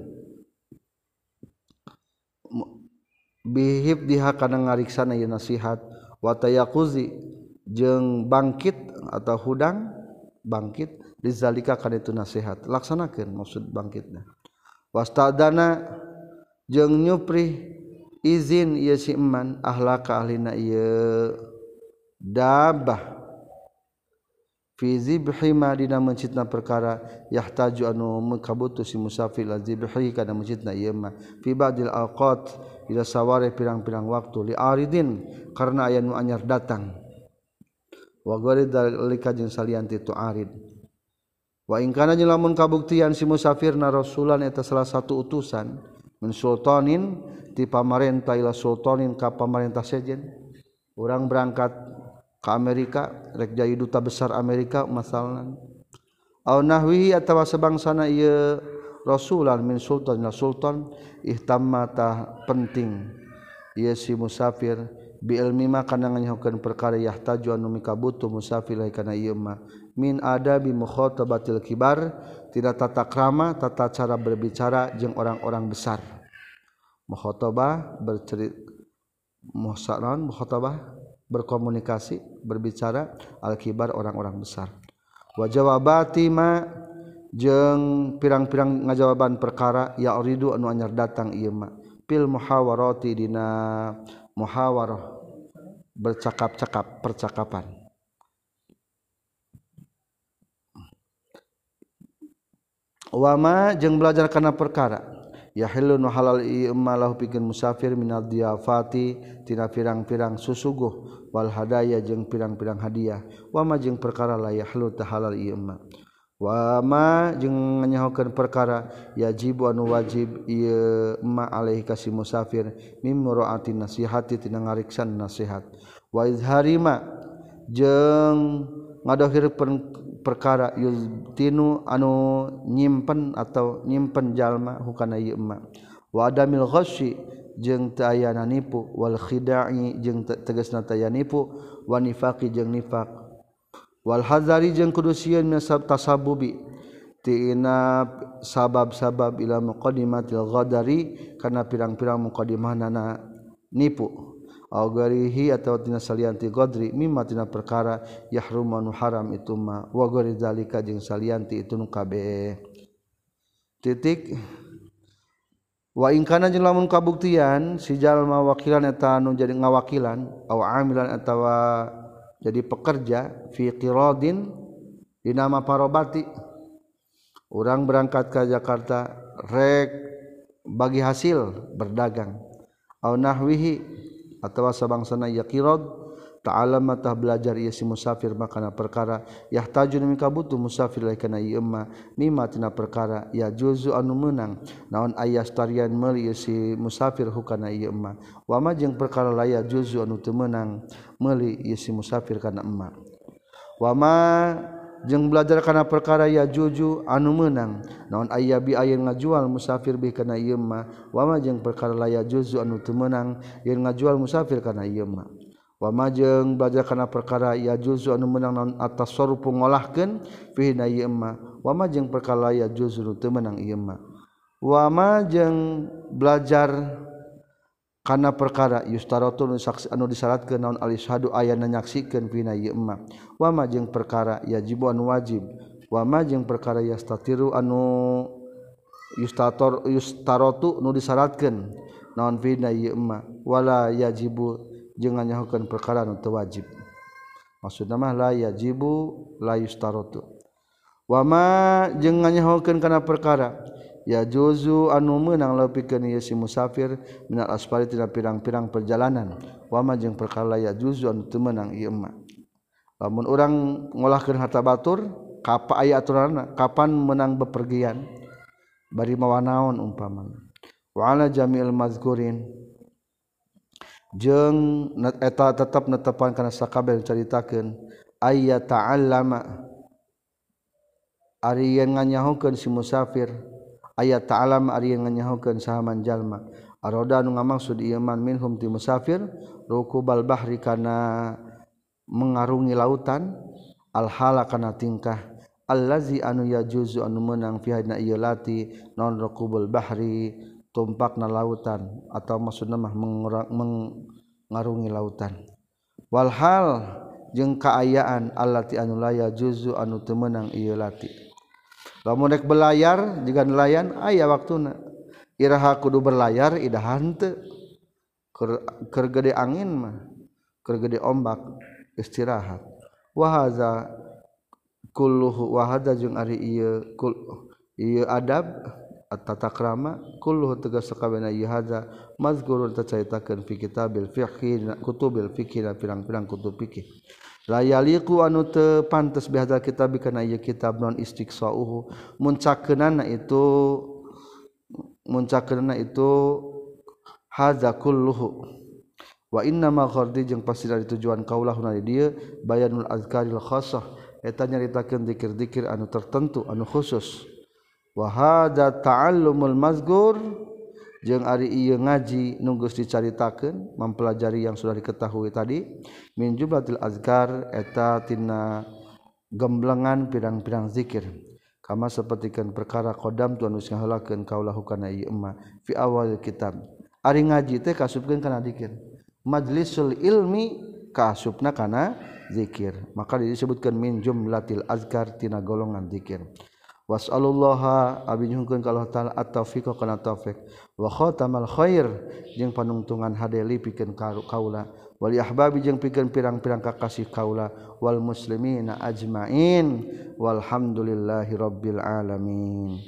bihib diha kana ngariksana ieu nasihat wa tayaquzi jeung bangkit atau hudang bangkit dizalika kana itu nasihat laksanakeun maksud bangkitna wastadana jeung nyupri izin ieu si eman ahlaka ahlina ieu dabah fi zibhi ma dina mencitna perkara yahtaju anu makabutuh si musafir la zibhi kana mencitna ieu ma fi ba'dil awqat ila saware pirang-pirang waktu li aridin karena aya nu anyar datang wa gharid dalika jeung salianti tu arid wa in kana lamun kabuktian si musafir na rasulan eta salah satu utusan min sultanin ti pamarentah ila sultanin ka pamarentah sejen urang berangkat ka Amerika rek jadi duta besar Amerika masalan au nahwihi atawa sabangsana ieu rasulan min sultan na sultan ihtamma ta penting ieu si musafir bi ilmi ma kana nganyahokeun perkara yahtaju anu mikabutuh musafir kana ieu ma min adabi mukhatabatil kibar tidak tata krama tata cara berbicara jeung orang-orang besar mukhatabah mukhatabah berkomunikasi berbicara al-kibar orang-orang besar wa jawabati ma jeung pirang-pirang ngajawaban perkara ya uridu anu anyar datang ieu ma pil muhawarati dina muhawarah bercakap-cakap percakapan wa ma jeung belajar kana perkara yahillu nu halal ieu ma lahu pikeun musafir minal diyafati tina pirang-pirang susuguh wal hadaya jeung pirang-pirang hadiah wa ma jeung perkara la yahillu ta halal ieu ma wa ma jeung nganyahokeun perkara yajibu anu wajib ieu ma alaihi kasih musafir mim muraati nasihati tina ngariksan nasihat wa izhari ma jeung ngadohirkeun perkara yuztinu anu nyimpen atau nyimpen jalma hukana ieu ma wa adamil ghasyi jeung teu aya nipu wal khida'i jeung tegasna teu aya nipu wa nifaqi jeung nifaq wal hazari jeung kudu sieun minasab tasabbubi tina sabab-sabab ila muqaddimatil ghadari kana pirang-pirang muqaddimahna nipu aw garihi atawa tina salianti ghadri mimma tina perkara yahrum anu haram itu ma wa gari zalika jeung salianti itu nu kabeh titik wa in kana jeung lamun kabuktian si jalma wakilan eta anu jadi ngawakilan aw amilan atawa jadi pekerja fi qiradin dina parobati urang berangkat ke Jakarta rek bagi hasil berdagang aw nahwihi atawa sabangsana ya qirad ta'allama tah belajar ieu si musafir makana perkara yahtajun mika butuh musafir lain kana ieu ma mimma tina perkara ya juzu anu meunang naon ayas tarian meuli si musafir hukana ieu ma wa ma jeung perkara laya juzu anu teu meunang meuli ieu si musafir kana emma wa ma jeung belajar kana perkara ya juju anu meunang naon aya bi aya ngajual musafir bi kana ieu ma wa ma jeung perkara laya juzu anu teu meunang yen ngajual musafir kana ieu ma wa ma jeung belajar kana perkara ya juzu anu meunang naon atasarrufu ngolahkeun fi na ieu ma wa ma jeung perkara laya juzu anu teu meunang ieu ma wa ma jeung belajar kana perkara yustaratu anu disyaratkeun naon al-ishadu ayana nyaksikeun pina ieu ma wa ma jeung perkara yajibu anu wajib wa ma jeung perkara yastatiru anu yustaratu nu disyaratkeun naon pina ieu ma wala yajibu jeung nganyahokeun perkara anu teu wajib maksudna mah la yajibu la yustaratu wa ma jeung nganyahokeun kana perkara ya juzu anu meunang leuwikeun ieu si musafir minal asfari tina pirang-pirang perjalanan wa ma jeung perkara ya juzu anu teu meunang ieu ma lamun urang ngolahkeun harta batur kapa aya aturanna kapan meunang bepergian bari mawa naon umpamana wa ala jami'il mazkurin jeung eta tetep netepan kana sakabeh caritakeun ayya ta'allama ari yen nganyahokeun si musafir ayat ta'alam ari yang nganyahokeun sahaman jalma aroda anu ngamaksud ieu man minhum ti musafir rukubal bahri kana mengarungi lautan alhala kana tingkah allazi anu yajuzu anu meunang fi hadna ieu lati non rukubul bahri tumpakna lautan atau maksudna mah mengarungi lautan walhal jeung kaayaan allati anu la yajuzu anu teu meunang ieu lati lamun rek belayar jiga nelayan aya waktuna iraha kudu berlayar idahan teu keur gede angin mah keur gede ombak istirahat wa hadza kulluhu wa hadza jeung ari ieu adab at-tata krama kulluhu tegas sakabehna ieu hadza mazkurun tacaitakeun fi kitabil fiqhi kutubil fiqhi pirang-pirang kutub fikih la yaliqu anu teu pantes bihadzal kitab kana ieu kitab non istiqsauhu muncakeunana itu hadza kulluhu wa inna ma ghardi jeung pasti dari tujuan kaulahuna di dieu bayanul azkaril khassah eta nyaritakeun zikir-zikir anu tertentu anu khusus wa hadza ta'allumul mazkur jeung ari ieu ngaji nu geus dicaritakeun mempelajari yang sudah diketahui tadi min jumlatil azkar eta tina gemblengan pirang-pirang zikir kama sapertikeun perkara qadam tu anu ngaheulakeun kaulahu kana ieu emma fi awal kitab ari ngaji teh kasupkeun kana zikir majlisul ilmi kasupna kana zikir maka disebutkeun min jumlatil azkar tina golongan zikir was'alullaha abi nyuhunkeun ka Allah taala at-taufiq kana taufik wa khatamal khair jeung panungtungan hadeli pikeun kaula wal ahbabi jeung pikeun pirang-pirang kakasih kaula wal muslimina ajmain walhamdulillahi rabbil alamin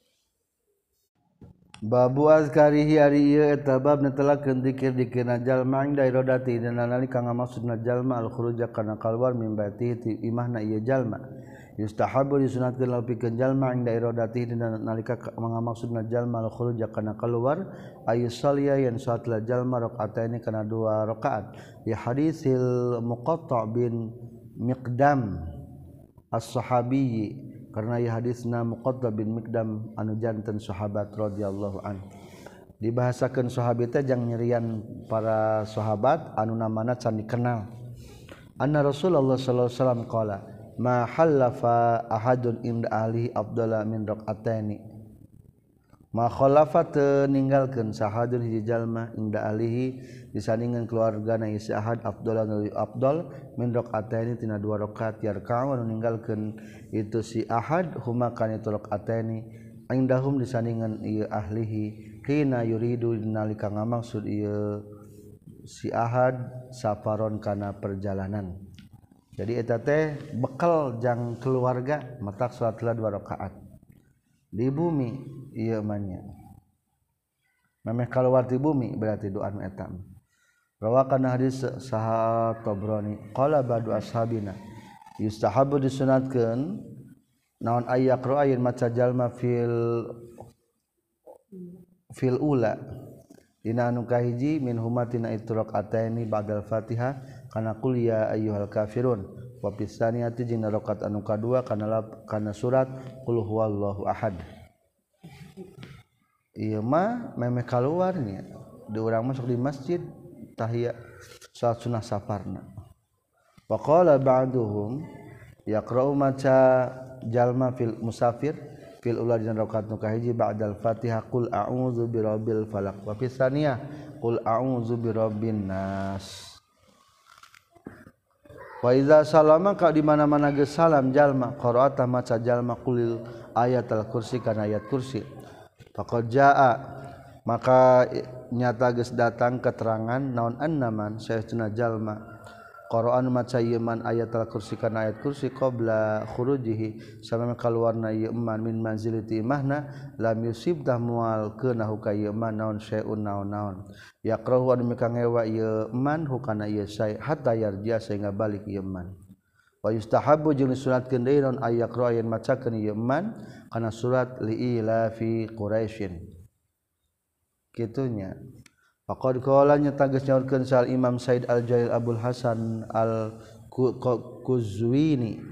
babu azkarihi ari ieu eta bab netelakeun zikir-zikirna jalma inda iradati dina nalika ngamaksudna jalma al khuruj kana kaluar min baiti ti imahna ieu jalma yustahabu disunatkeun lapikeun jalma inda iradati dina nalika ngamaksudna jalma al khuruj kana kaluar ayusalliya yen salatna jalma rakaataini kana 2 rakaat ya hadisil muqatta bin miqdam as-sahabiyyi karena ieu hadisna Muqaddam bin Mikdam anu janten sahabat radhiyallahu an. Dibahasakeun sahabi teh jang nyerian para sahabat anu namana can dikenal. Anna Rasulullah sallallahu alaihi wasallam qala ma halafa ahadun inda ahli afdala min raqataini. Ma khalafa teu ninggalkeun sahadun hiji jalma inda ahlihi disandingan keluargana ieu ahad afdala nu afdal min raqataini tina dua rakaat yarka'u anu ninggalkeun itu si ahad huma kana itu raqataini indahum disandingan ieu ahlihi hina yuridu nalika ngamaksud ieu si ahad safaron kana perjalanan. Jadi eta teh bekal jang keluarga matak salatna 2 rakaat di bumi ieu mah nya memeh kaluar ti bumi berarti doa nu eta rawakan hadis saha Tabrani qala ba'du ashabina yustahabu disunatkeun naon ayyaqra ayin maca jalma fil ula dina anu kahiji min humatina itu rakaataini ba'dal Fatihah kana qul ya ayyuhal kafirun wa pisaniyati jeung rakaat anu kadua kana surat qul huwallahu ahad. Ieu mah memeh kaluarnya di urang masuk di masjid tahiyat salat sunah safarna. Wa qala ba'duhum yaqra'u maca jalma fil musafir fil ula dina rakaat nu kahiji ba'dal Fatihah qul a'udzu birabbil falaq wa pisaniyah qul a'udzu birabbin nas. Wa iza salama ka di mana-mana geus salam jalma qira'atah maca jalma qulil ayatul kursi kana ayat kursi faqad jaa maka nyata geus datang keterangan naon annaman saestuna jalma qara'an maca ieu man ayatul kursi kana ayat kursi qabla khurujihi samana kaluarna ieu man min manzilati imahna lam yusibdah mual keunahu ka ieu man naon syai'un naon-naon yaqrahu anu mikangewa ieu man hukana ieu syai' hatta yarja sehingga balik ieu man wa yustahabbu jeung disunatkeun deui naon ayaqra yen macakeun ieu man kana surat liila fi quraisyin kitunya faqad qala nya tages nyaurkeun sal Imam Said Al-Jalil Abdul Hasan Al-Quzwini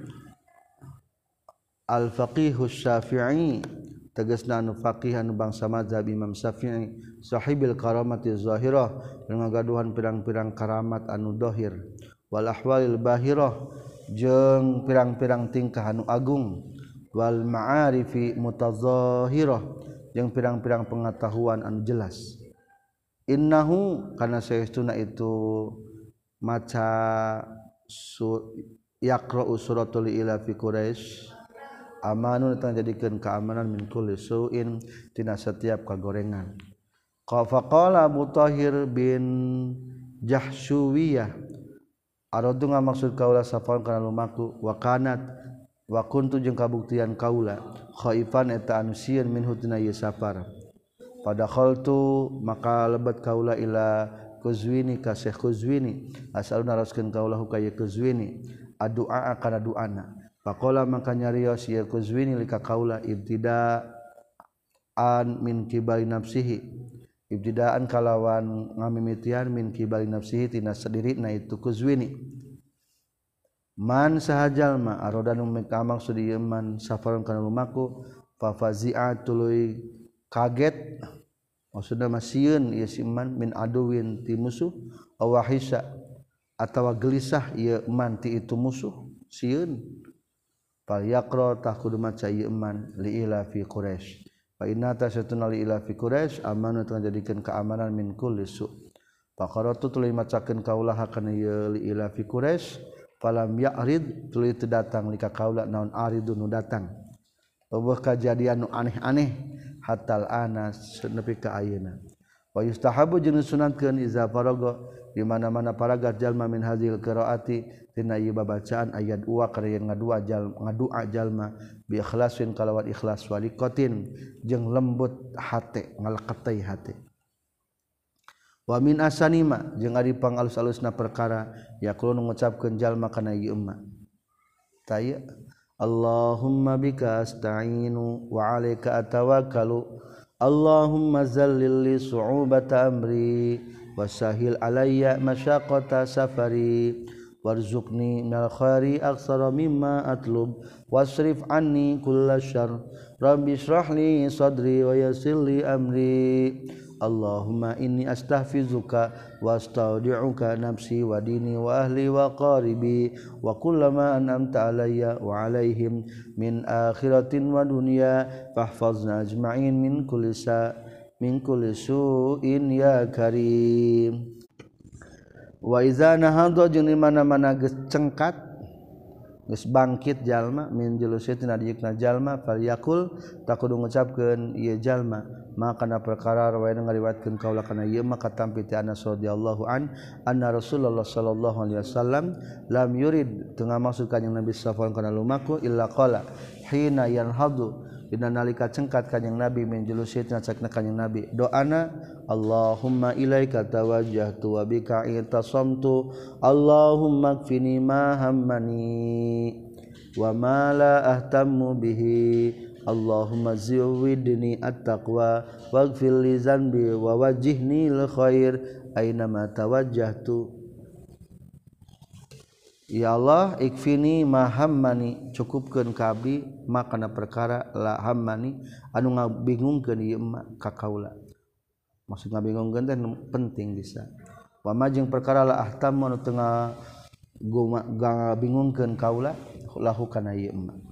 Al-Faqih Asy-Syafi'i tegasna anu faqih anu bangsa mazhab Imam Syafi'i sahibil karamati zahirah ngagaduhan pirang-pirang karamat anu zahir wal ahwalil bahirah jeung pirang-pirang tingkah anu agung wal ma'arifi mutazahirah jeung pirang-pirang pengetahuan anu jelas. Innahu kana saestuna itu maca yaqra'u suratul ila fi quraisy amanun tang jadikeun keamanan min kulli su'in tina setiap kagorengan. Faqala Abu Thahir bin Jahshuwiyah aradu ngamaksud kaula safal kana lumaku wa kanat wa kuntu jeung kabuktian kaula khaifan eta anu sieun minhu tina ieu safar. Pada khaltu maka lebat kaula ila Quzwini ka Syekh Quzwini asalna raskeun kaula hukaya Quzwini addu'a kana du'ana faqala maka nyarios ieu Quzwini lika kaula ibtidaan min kibali nafsihi ibtidaan kalawan ngamimitian min kibali nafsihi tina sadirina itu Quzwini man sahajalma arodanu maksud ieu man safaron kana lumaku fa fazi'a tuluy kaget maksudna masieun ieu si man min aduwin ti musuh aw wahisa atawa gelisah ieu man ti itu musuh sieun fal yaqra takudu maca ieu man li ila fi quraisy fa inna tasatuna li ila fi quraisy amanu terjadikeun keamanan min kulli su faqaratu tuluy macakeun kaula kana ieu li ila fi quraisy falam ya'rid tuluy teu datang lika kaula naon aridun nu datang eueuh kajadian nu aneh-aneh hatal anas nepi ka ayeuna wa yustahabu jeung sunatkeun iza faraga di mana-mana paragat jalma min hadzil qiraati tina ieu babacaan ayat wa karyan ngadua jalma bi ikhlasin kalawan ikhlas waliqatin jeung lembut hate ngaleketei hate wa min asanima jeung ari pangalus-alusna perkara yaqulu ngucapkeun jalma kana ieu umma taya Allahumma bika asta'inu wa 'alaika atawakkalu Allahumma zallil li su'ubata amri wa sahil alayya masyaqqata safari warzuqni minal khairi aksara mimma atlub wasrif anni kulla syarr rabbi shrah li sadri wa yassir li amri Allahumma inni astaghfiruka wa astaudi'uka nafsi wa dini wa ahli wa qaribi wa kullama an'amta alayya wa alaihim min akhiratin wa dunya fahfazna ajma'in min kulli su'in ya karim. Wa iza nahadha jeung di mana-mana geus cengkat geus bangkit jalma min julusitina dijikna jalma falyakul takudu ngucapkeun ieu jalma maka kana perkara rawayan ngariwayatkeun kaula kana ieu maka tampi ti Anas radhiyallahu anna Rasulullah sallallahu alaihi wasallam lam yurid teu ngamaksud kanjing Nabi sallallahu kana lumaku illa qala hina yanhadu dina nalika cengkat kanjing Nabi min julusitina cakna kanjing Nabi doana Allahumma ilaika tawajjahtu wa bika i'tasamtu Allahumma kfini ma hammani wa ma la ahtammu bihi Allahumma ziwidni at-taqwa waghfir li zanbi wa wajjihni lil khair aina ma tawajjahtu ya Allah ikfini ma hammani cukupkeun ka abdi makana perkara la hammani anu ngabingungkeun ieu ka kaula maksud ngabingungkeun teh penting bisa wa majeng perkara la ahtam anu teu ngabingungkeun kaula lahu kana ieu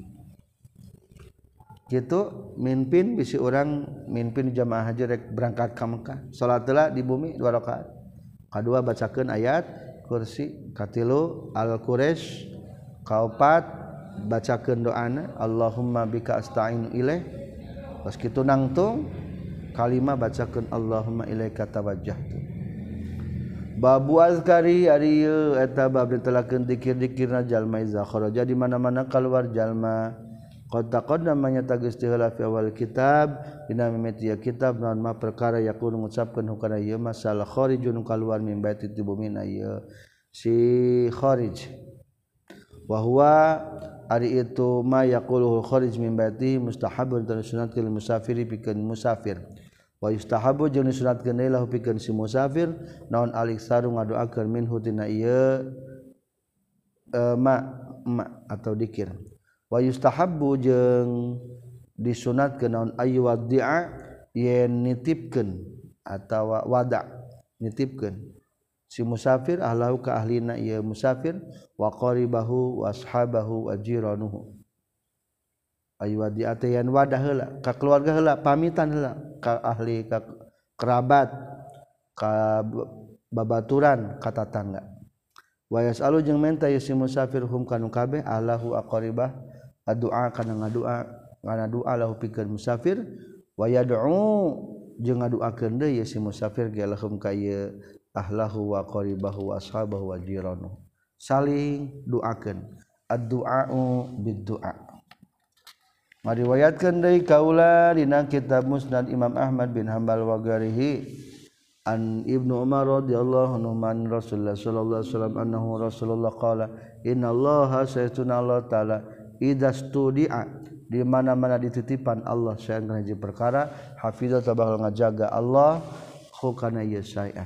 kitu mimpin bisi urang mimpin jamaah haji rek berangkat ka Mekah salat heula di bumi 2 rakaat kadua bacakeun ayat kursi katilu al-quraish kaopat bacakeun doana Allahumma bika asta'inu ilaih pas kitu nangtung kalima bacakeun Allahumma ilaika tawajjahtu babu azkari ari ieu eta bab ditelakeun zikir-zikirna jalma iza kharaja di mana-mana keluar jalma qad taqaddama nyata geus heula fi awal kitab dina mimiti kitab naon ma perkara yakun ngucapkeun hukana ieu masalah kharijun kaluar min baiti tibumina ieu si kharij wa huwa ari itu ma yaquluhu kharij min baiti mustahabun dan sunnatul musafiri pikeun musafir wa yustahabu jeung disunatkeun deui lahu pikeun si musafir naon aliksaru ngadoakeun minhu tina ieu ma atau dikir wa yustahabbu jeung disunatkeun naon ayu wadi'a yen nitipkeun atawa wada' nitipkeun si musafir ahlahu ka ahlina ieu musafir wa qaribahu wa ashabahu wa jiranuhu ayu wadi'a teh yen wadah heula ka keluarga heula pamitan heula ka ahli ka kerabat ka babaturan ka tatangga wa yasalu jeung menta si musafir hum kanu kabeh ahlahu aqribah addu'a kana ngadua lahu pikeun musafir wa yad'u jeung ngaduakeun deui si musafir ge lahum ka ieu ahlahu wa qaribahu wa ashabahu wa jiranuhu saling doakeun addu'a'u biddu'a mariwayatkeun deui kaula dina kitab Musnad Imam Ahmad bin Hanbal wa ghairihi an Ibnu Umar radhiyallahu anhu man Rasulullah sallallahu alaihi wasallam annahu Rasulullah qala innallaha saytuna Allah taala idza studi'a di mana-mana dititipan Allah sayan kana hiji perkara hafizah bakal ngajaga Allah hukana ieu sayan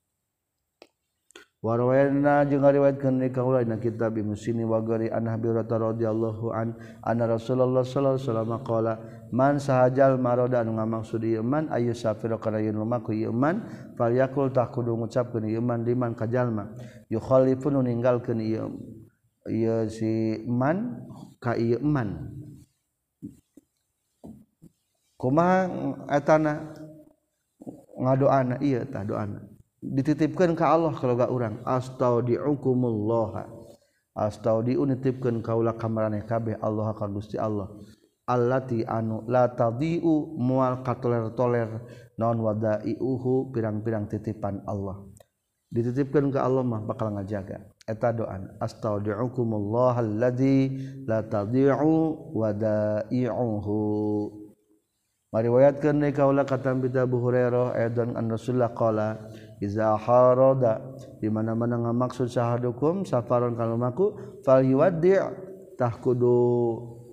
wa rawayna jeung ngariwayatkeun deui kaula dina kitab Ibnu Sini wa ghairi an Abi Hurairah radhiyallahu anna Rasulullah sallallahu alaihi wasallam qala man sahajal maroda anu ngamaksud ieu man ayu safir kana ieu lumaku ieu man falyakul tah kudu ngucapkeun ieu man liman ka jalma yukhalifun ninggalkeun ieu si man ka ieu man kumaha etana ngadoana ieu tah doana dititipkeun ka Allah kalau ga urang astaudiukumullah astaudiu nitipkeun kaula ka maraneh kabeh Allah ka Gusti Allah allati anu la tadiu moal katoler-toler naon wadaiuhu pirang-pirang titipan Allah dititipkeun ka Allah mah bakal ngajaga eta doa astaudiukumullah alladzi la tadiu wadaiuhu mariwayatkeun deui kaula katam bi Abu Hurairah edan an Rasulullah qala iza harada di mana-mana ngamaksud sahadukum safaron kalumaku fal yuwaddi' tah kudu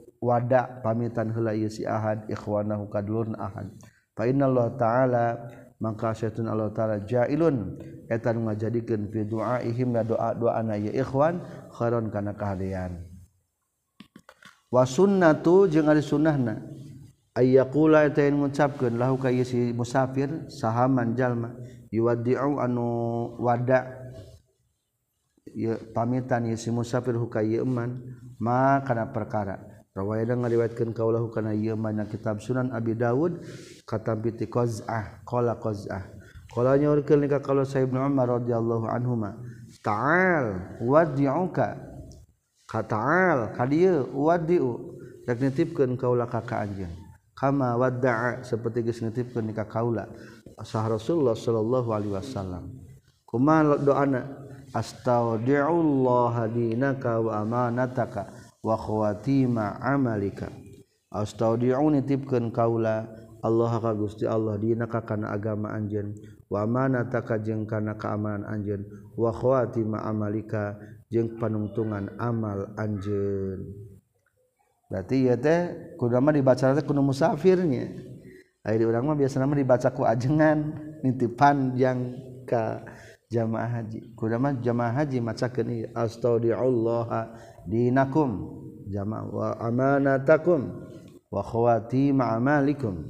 wada pamitan heula ieu si ahad ikhwanahu kadulurna ahad fa innallaha ta'ala maka syaitan Allah taala jailun eta nu ngajadikeun fi du'aihim la doa-doana ya ikhwan khairon kana kahadean wa sunnatu jeung ari sunnahna ayyaqula eta ngucapkeun lahu ka si musafir sahaman jalma yuwaddi'u anu wada ya pamitan si musafir huka ieu man ma kana perkara rawayana ngariwayatkeun kaulahu kana ieu man kitab Sunan Abi Dawud katampi ti qaz'ah qala nyaurkeun ka kalau Sayyid Ibnu Umar radhiyallahu anhuma ta'al waddi'uka ka ta'al ka dieu waddi'u rek nitipkeun kaula ka anjeun kama wadda'a saperti geus nitipkeun ka kaula sah Rasulullah sallallahu alaihi wasallam kumaha doana astaudi'ullaha dinaka wa amanataka wa khawatima amalika astaudi'u nitipkeun kaula Allah ka Gusti Allah dinaka kana agama anjeun wa amanataka jeung kana keamanan anjeun wa khawatima amalika jeung panungtungan amal anjeun. Berarti ieu teh kudu mah dibaca teh kudu musafirnya. Ari urang mah biasana mah dibaca ku ajengan nitipan yang ka jamaah haji. Kudu mah jamaah haji macakeun ieu astaudi'ullaha dinakum jamaah wa amanatakum wa khawatima amalikum.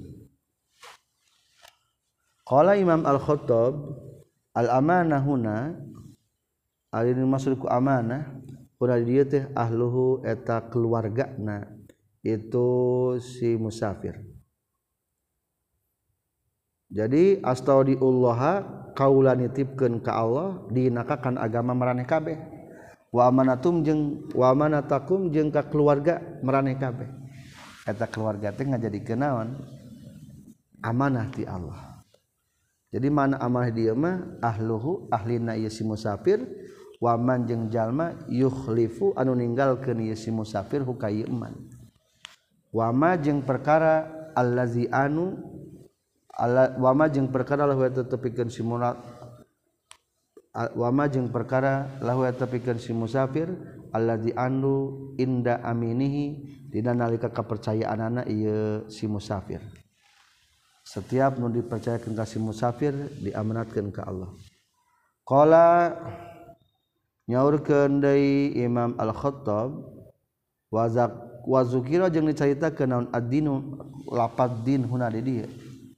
Qala Imam Al-Khattab al-amanah huna ari maksud ku amanah urang dieu teh ahluhu eta keluargana itu si musafir. Jadi astaudiullaha kaula nitipkeun ka Allah dinaka kan agama maraneh kabeh wa amanatum jeung wa amanatakum jeung ka keluarga maraneh kabeh eta keluarga teh ngajadikeun naon amanah ti Allah. Jadi mana amanah dieu mah ahluhu ahlina ieu si musafir waman jeung jalma yukhlifu anu ninggalkeun ieu si musafir huka ieu man wama jeung perkara allazi anu wama jeung perkara lahu tetepikeun si munat wama jeung perkara lahu tetepikeun si musafir allazi anu inda aminihi dina nalika kapercayaanana ieu si musafir. Setiap nu dipercayakeun ka si musafir diamanatkeun ka Allah. Qala nyaurkeun deui Imam Al-Khattab wa zukira jeung dicaritakeun naon ad-dinu lapad din huna di dieu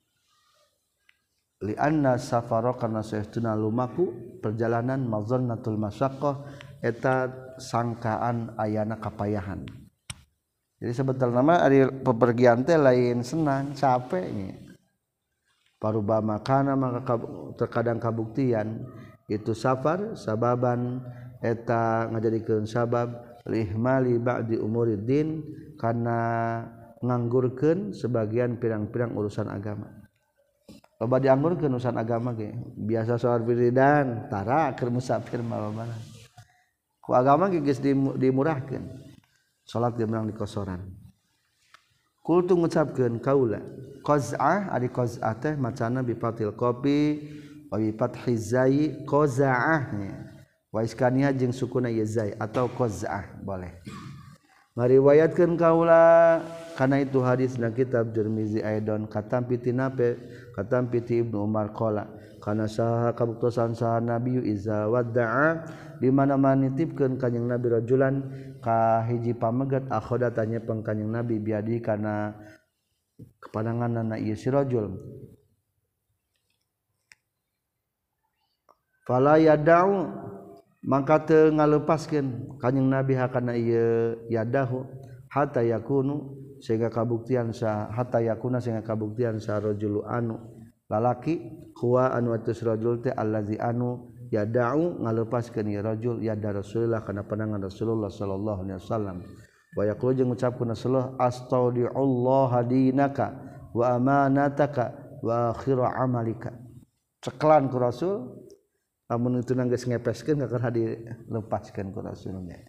li anna safara kana saestuna lumaku perjalanan mazannatul masyaqqah eta sangkaan ayana kapayahan. Jadi sebetulna mah ari pepergian teh lain senang capek nya parubama kana maka terkadang kabuktian itu safar sababan eta ngajadikeun sabab lihmali ba'di umuriddin kana nganggurkeun sebagian pirang-pirang urusan agama. Loba dianggurkeun urusan agama ge biasa salat wiridan tara keur musafir mah loba. Ku agama ge geus dimurahkeun. Salat ge menang dikosoran. Kultu ngucapkeun kaula qaz'ah ari qaz'ah teh macana bi fatil qafi wa bi fathiz zai qaz'ah wa iskaniha jeung sukuna ya zai atau qaz'ah boleh ngariwayatkeun kaula kana itu hadis na kitab Tirmizi aidon katam pitinape katam piti Ibnu Umar qala kana saha kabuktosan saha nabi iza wadda'a di mana-mana nitipkeun kanjing nabi rajulan ka hiji pamegat akhoda tanya pengkanjing nabi biadi kana kepananganna ieu si rajul fala yada'u maka teu ngalepaskeun kanjing nabi hakana ieu yadahu hatta yakunu sehingga kabuktian sa hatta yakuna sehingga kabuktian sa rajulu anu lalaki huwa anu atus rajul teh allazi anu yada'u ngalepaskeun ieu rajul yada Rasulullah kana panangan Rasulullah sallallahu alaihi wasallam wa yaqulu jeung ngucapkeun Rasulullah astaudiullaha dinaka wa amanataka wa akhira amalika ceklan ku Rasul lamun itu geus ngepeskeun kakeur dilepaskeun ku Rasulnya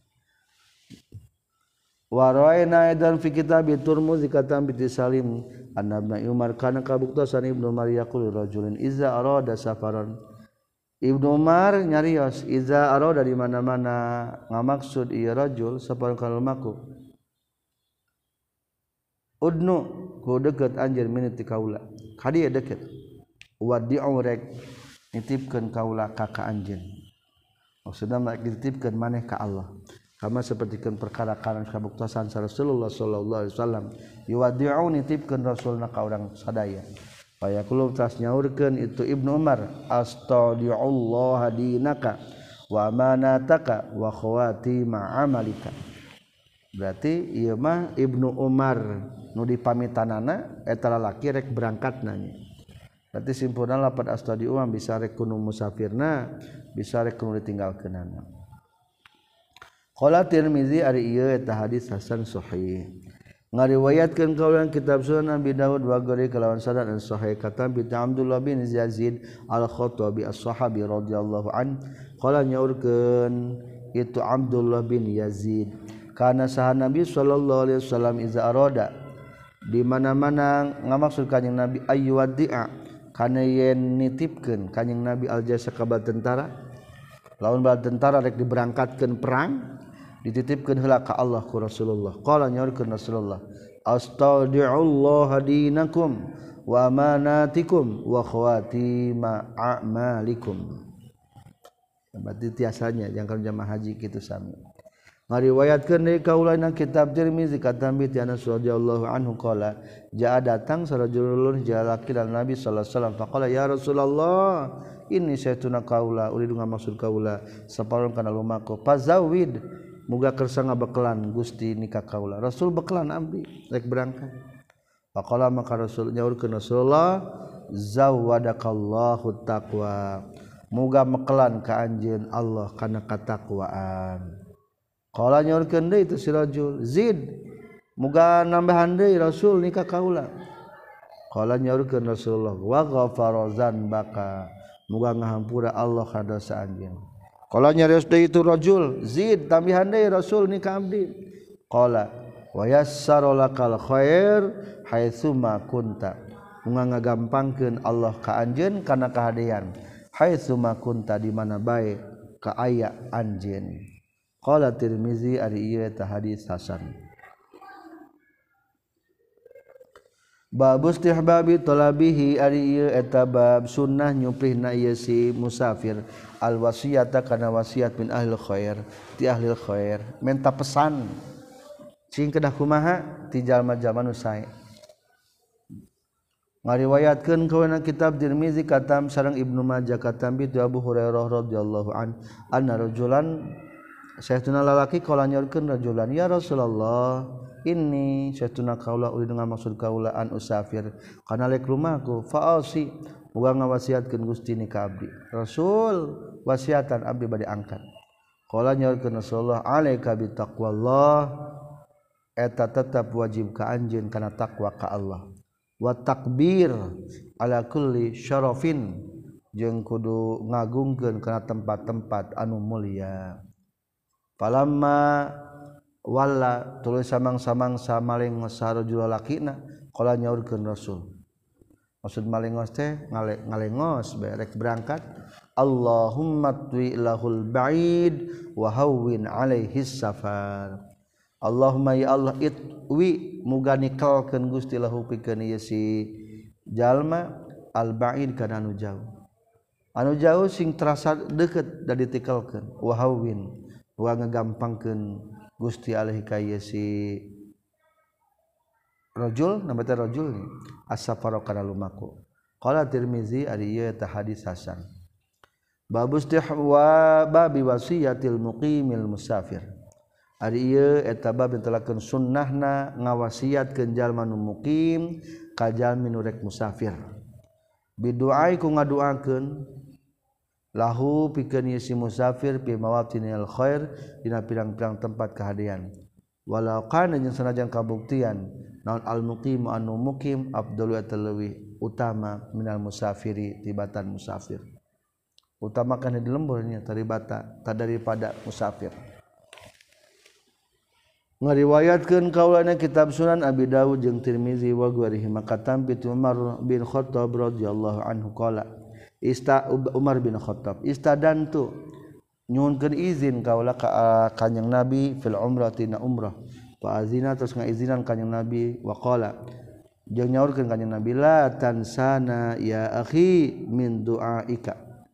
wa ra'ayna aidan fi kitab Tirmidzi katam bi Salim anna Umar kana kabuktosan Ibnu Umar yaqulu rajulun iza arada safaran Ibnu Umar nyarios iza arada di mana-mana ngamaksud ieu rajul saparan kana lumaku udnu ku deukeut anjeun minit ti kaula ka dieu deukeut wadi'u rek nitipkeun kaula ka anjeun maksudna dititipkeun maneh ka Allah kama sapertikeun perkara kana kabuktosan Rasulullah sallallahu alaihi wasallam yuwadi'u nitipkeun rasulna ka urang sadaya aya kulo tas nyaurkeun itu Ibnu Umar astaudi'ullah dinaka wa amanataka wa khawati ma'amalika berarti ieu mah Ibnu Umar nu dipamitanana eta lalaki rek berangkatna nya berarti simpulna lapan astaudi'u bisa rek kudu musafirna bisa rek kudu ditinggalkeunana qala Tirmizi ari ieu eta hadis hasan sahih ngariwayatkeun kaulan kitab Sunan Abi Dawud wa ghairi kalawan sanad an sahih kata bi Abdullah bin Yazid al-Khattabi as-sahabi radhiyallahu an qala nyaurkeun itu Abdullah bin Yazid kana saha Nabi sallallahu alaihi wasallam iza arada di mana-mana ngamaksud kanjing Nabi ayyuwaddi'a kana yen nitipkeun kanjing Nabi al-jasa ka tentara lawan bala tentara rek diberangkatkeun perang dititipkeun heula ka Allah ku Rasulullah qala nyaurkeun Rasulullah astaudi'ullah dinakum wa amanatikum wa khawatima a'malikum berarti tiasanya jangkal jamaah haji kitu sami ngariwayatkeun deui kaulana kitab Tirmizi katambi ti Anas radhiyallahu anhu qala jaa datang sarajulun jalaki dan Nabi sallallahu alaihi wasallam faqala ya Rasulullah inni saytuna kaula uridu ngamaksud kaula saparon kana lumaku fazawid muga kersa ngabekelan Gusti nikah kaula Rasul bekelan abdi rek berangkat faqala maka Rasul nyaurkeun Rasulullah zawadakallahu taqwa muga mekelan ka anjeun Allah kana katakwaan qala nyaurkeun deui itu si rajul zid muga nambahan deui Rasul nikah kaula qala nyaurkeun Rasulullah wa ghafara dzanbaka muga ngahampura Allah kana dosa anjeun qala nyarios deui itu rajul zid tambihan deui Rasul nikah abdi qala wa yassara lakal khair haitsu ma kunta muga ngagampangkeun Allah ka anjeun kana kahadean haitsu ma kunta di mana bae ka aya anjeun qala Tirmizi ari ieu eta hadis hasan bab istihbabi talabihi ari ieu eta bab sunnah nyuplihna ieu si musafir al wasiyata kana wasiat min ahli khair ti ahli khair menta pesan cing kedah kumaha ti jalma-jalma nu sae ngariwayatkeun kawana kitab Tirmizi katam sareng Ibnu Majah katam bi Abu Hurairah radhiyallahu anna rajulan sayyiduna lalaki qala nyaurkeun rajulan ya Rasulullah inni sayyiduna kaula uridu ngamaksud kaula an usafir kana lek rumahku fa'asi muga ngawasiatkeun Gusti ni ka abdi Rasul wasiatan abdi bade angkat qala nyaurkeun Rasulullah alaika bi taqwallah eta tetap wajib ka anjeun kana takwa ka Allah wa takbir ala kulli syarafin jeung kudu ngagungkeun kana tempat-tempat anu mulia palamma walla tuluy samang-samangsa malengos sarojul lakina qala nyaurkeun Rasul maksud malengos teh ngalengos berek berangkat Allahumma twi lahul ba'id wa hawwin alaihi safar Allahumma ya Allah itwi muga nikelkeun Gusti lahu pikeun ieu si jalma al ba'id kana anu jauh sing terasa deukeut da ditikelkeun wa hawwin wa ngagampangkeun Gusti alaihi ka ieu si rajul nama teh rajul as-safara kana lumaku qala Tirmizi ari ieu teh hadis hasan bab istihwa babi wasiyatil muqimil musafir ari ieu eta bab telakeun sunnahna ngawasiatkeun jalma nu muqim ka jalmi nu rek musafir biduai ku ngaduakeun lahu pikeun ieu si musafir fi mawatinil khair dina pirang-pirang tempat kahadean walau kana jeung sanajan kabuktian naon al muqim anu muqim afdalu atalwi utama minal musafiri tibatan musafir utamakan di lemburnya taribata tak daripada musafir ngariwayatkeun kaulana kitab Sunan Abi Dawud jeung Tirmizi wa ghairihi makatam bi Umar bin Khattab radhiyallahu anhu qala Umar bin Khattab istadantu nyuhunkeun izin kaula ka kanjing Nabi fil umrati na umrah fa azina terus ngaizinan kanjing Nabi wa qala jeung nyaurkeun kanjing Nabi la tansana ya akhi min duaika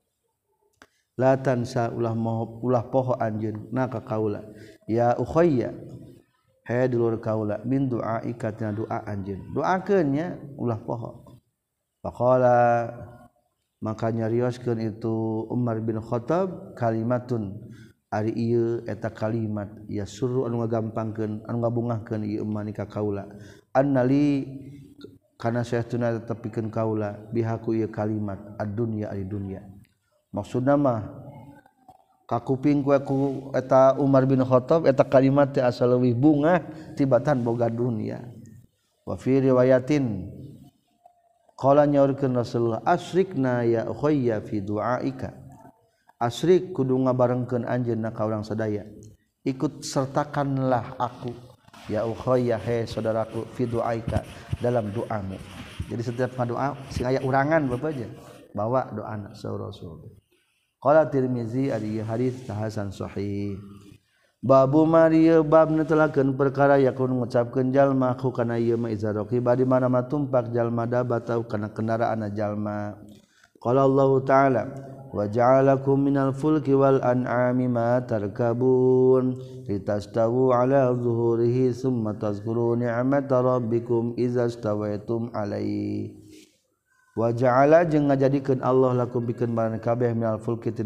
la tansa ulah poho anjeun na ka kaula ya ukhayya he dulur kaula min duaika tina doa anjeun doakeun nya ulah poho faqala maka nyarioskeun itu Umar bin Khattab kalimatun ari ieu eta kalimat ya suruh anu ngagampangkeun anu ngabungahkeun ieu umman ka kaula annali kana saestuna tepikeun kaula bihaku ieu kalimat ad-dunya ari dunya maksudna mah kakuping ku eta Umar bin Khattab eta kalimat teh asa leuwih bungah tibatan boga dunya wa fi riwayatin qala nyaurkeun Rasulullah asyrikna ya ukhayya fi duaika asyrik kudu ngabarengkeun anjeunna ka urang sadaya ikut sertakanlah aku ya ukhayya he saudaraku fi duaika dalam doamu jadi setiap ngadoa sing aya urangan bapak aja bawa doana saur Rasul qala Tirmizi ari hadis hasan sahih babu marieu bab netelakeun perkara yakun ngucapkeun jalma ku kana ieu ma izaroki badi mana matumpak jalma dabatau kana kendaraanna jalma qala Allah taala wa ja'alakum minal fulki wal an'ami ma tarkabun litastawu ala zuhurihi summa tazkuru ni'mata rabbikum idza stawaitum alaihi wa ja'ala jeung ngajadikeun Allah lakum pikeun maraneh kabeh minal fulki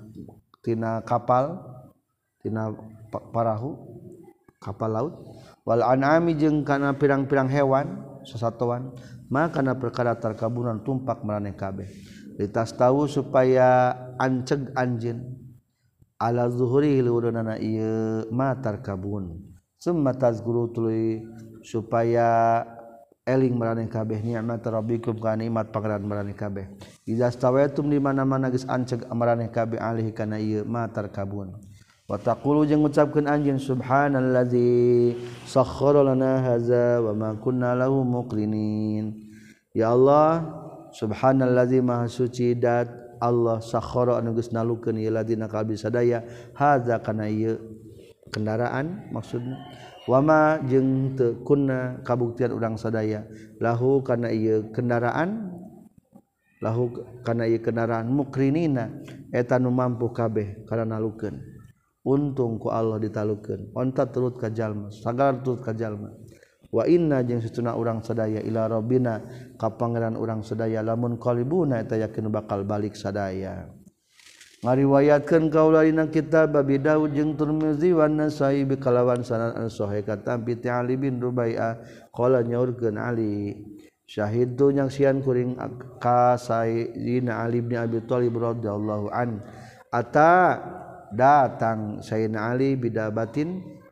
tina kapal tina parahu kapal laut wal an'ami jeung kana pirang-pirang hewan sasatoan maka kana perkara tarkabunan tumpak maraneh kabeh litas tahu supaya anceg anjeun ala zuhuri luhurna ieu matar kabun summa tazkuru tuluy supaya eling maraneh kabeh nikmat rabbikum ka nikmat pangeran maraneh kabeh idza stawaitum di mana-mana geus anceg maraneh kabeh alih kana ieu matar kabun wa taqulu jeung ngucapkeun anjeun subhanallazi sakhkhara lana hadza wa ma kunna lahu muqrinin ya Allah subhanallazi maha suci dat Allah sakhara anu geus nalukeun ieu ladina ka abdi sadaya hadza kana ieu kendaraan maksudna wama jeung teu kunna kabuktian urang sadaya lahu kana ieu kendaraan mukrinina eta nu mampu kabeh kana nalukeun untung ku Allah ditalukeun onta turut ka jalma sagar turut ka jalma wa inna jeung satuna urang sadaya ila rabbina ka pangeran urang sadaya lamun qalibuna eta yakin bakal balik sadaya ngariwayatkeun kaula dina kitab Abi Daud jeung Tirmizi wa Nasai bi kalawan sanad an sahih katam bi Ali bin Rubai'ah qala nyaurkeun Ali syahidtu nyaksian kuring ka Sayyidina Ali bin Abi Thalib radhiyallahu an ata datang Sayyidina Ali bidabatin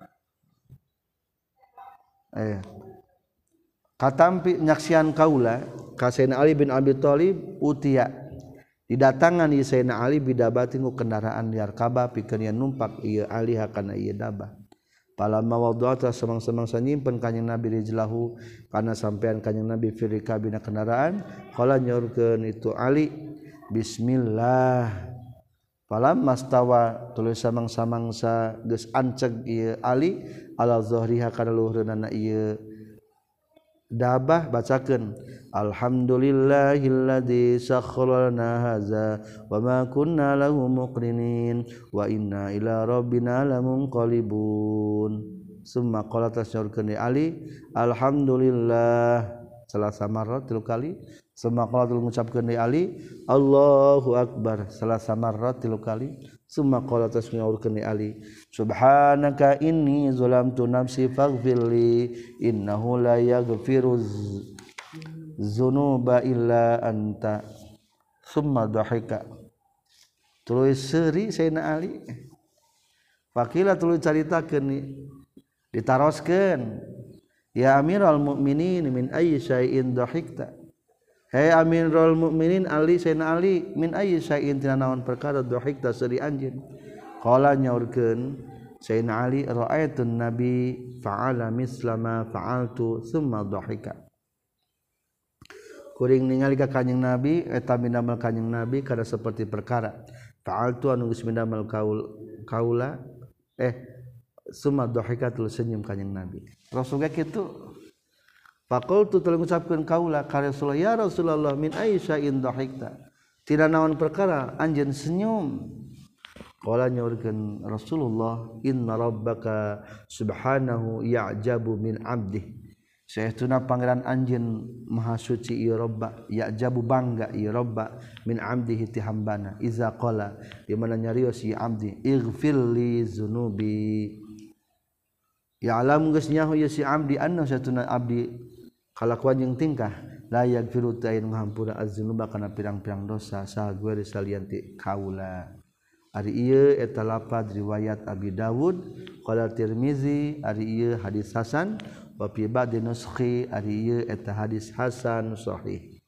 katampi nyaksian kaula ka Sayyidina Ali bin Abi Thalib utia didatangan ieu Sayyidina Ali bidabatin ku kendaraan liar kaba pikeun yen numpak ieu Ali hakana ieu dabah palamma wada'ata samang-samangsa nyimpen kanjing Nabi rijlahu kana sampean kanjing Nabi fi rikabina kendaraan qala nyaurkeun itu Ali bismillah palamma stawa tulis samang-samangsa geus anceg ieu Ali ala zuhriha kana luhurna ieu dabah bacakeun alhamdulillahilladzi sakhkhara lana hadza wa ma kunna lahu muqrinin wa inna ila rabbina lamunqalibun summa qala tasyurkeun Ali alhamdulillah salasa marrat 3 kali summa qala ngucapkeun Ali Allahu akbar salasa marrat 3 kali summa qala tasmi'urkeun Ali subhanaka inni zalamtu nafsi faghfirli innahu la yaghfiru dzunuba illa anta summa dhahika tuluy seuri Sayyidina Ali fakila tuluy caritakeun ditaroskeun ya amiral mukminin min ayyi syai'in dhahikta Hei Amirul Mukminin Ali Sayyidina Ali min ayyi syai'in tina naon perkara dhahikta seuri anjeun qala nyaurkeun Sayyidina Ali ra'aitun nabi fa'ala mislama fa'altu thumma dhahika kuring ningali ka kanjing Nabi eta mindamel kanjing Nabi kada seperti perkara fa'altu anu geus mindamel kaula thumma dhahika tuluy senyum kanjing Nabi Rasul ge kitu faqultu tuluy ngucapkeun kaula ka Rasulullah ya Rasulullah min aisya'in dhahikta tina naon perkara anjeun senyum qala nyaurkeun Rasulullah inna rabbaka subhanahu ya'jabu min 'abdihi saestuna pangeran anjeun maha suci ieu robba ya'jabu bangga ieu robba min 'abdihi ti hambana iza qala di mana nyarios si abdi ighfirli dzunubi ya'lam geus nyaho ieu si abdi anna saestuna abdi kalakuan jeung tingkah la yaghfiru ta'in ngahampura az-dzunuba kana pirang-pirang dosa sagueur salian ti kaula ari ieu eta lafaz riwayat Abi Dawud qala Tirmizi ari ieu hadis hasan wa fi ba'di nuskhi ari ieu eta hadis hasan sahih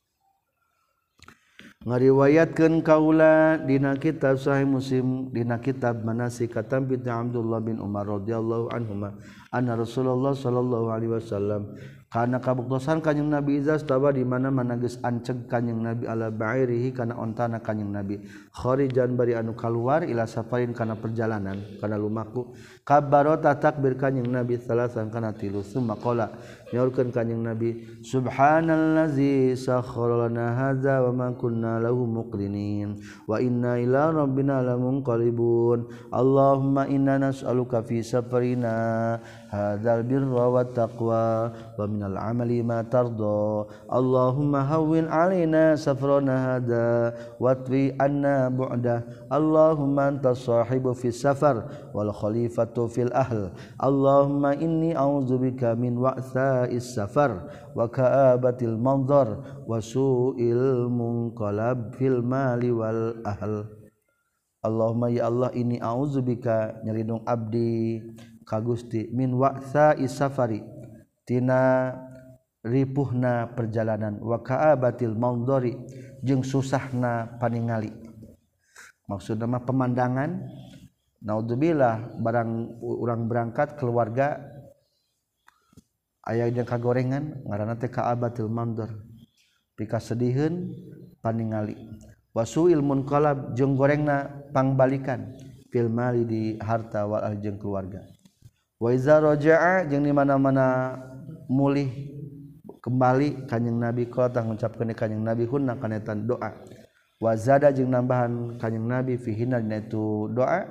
ngariwayatkeun kaula dina kitab Sahih Muslim dina kitab Manasik Tambi Abdullah bin Umar radhiyallahu anhuma anna Rasulullah sallallahu alaihi wasallam kana kabuktosan kanjing Nabi izas tawa di mana-mana geus anceg kanjing Nabi ala ba'irihi kana ontana kanjing Nabi kharijan bari anu kaluar ila safarin kana perjalanan kana lumaku kabbaro takbir kanjing Nabi salasan kana tilu summa qala nyaurkeun kanjing Nabi subhanallazi sakhkhara lana hadza wa ma kunna lahu muqrinin wa inna ila rabbina lamunqalibun Allahumma inna nas'aluka fi safarina hadzal birra wat taqwa wa minal amali ma tarda Allahumma hawwin alaina safrana hadza watwi anna bu'da Allahumma antas sahibu fis safar wal khalifatu fil ahl Allahumma inni a'udzubika min wa'sa'is safar wa ka'abatil manzar wa su'il munqalab fil mali wal ahl Allahumma ya Allah inni a'udzubika nyelindung abdi ka Gusti min wa'sa'is safari tina ripuhna perjalanan wa ka'abatil manzari jeung susahna paningali maksudna mah pemandangan naudzubillah barang urang berangkat keluarga aya jeung kagorengan ngaranna teh ka'abatil manzar pikasediheun paningali wasuil munqalab jeung gorengna pangbalikan fil mali di harta wal jeung keluarga wa iza raja'a jeung di mana-mana mulih kembali kanjing Nabi qala ngucapkeun kanjing Nabi hunna kana eta doa wa zada jeung nambahan kanjing Nabi fihinna dina itu doa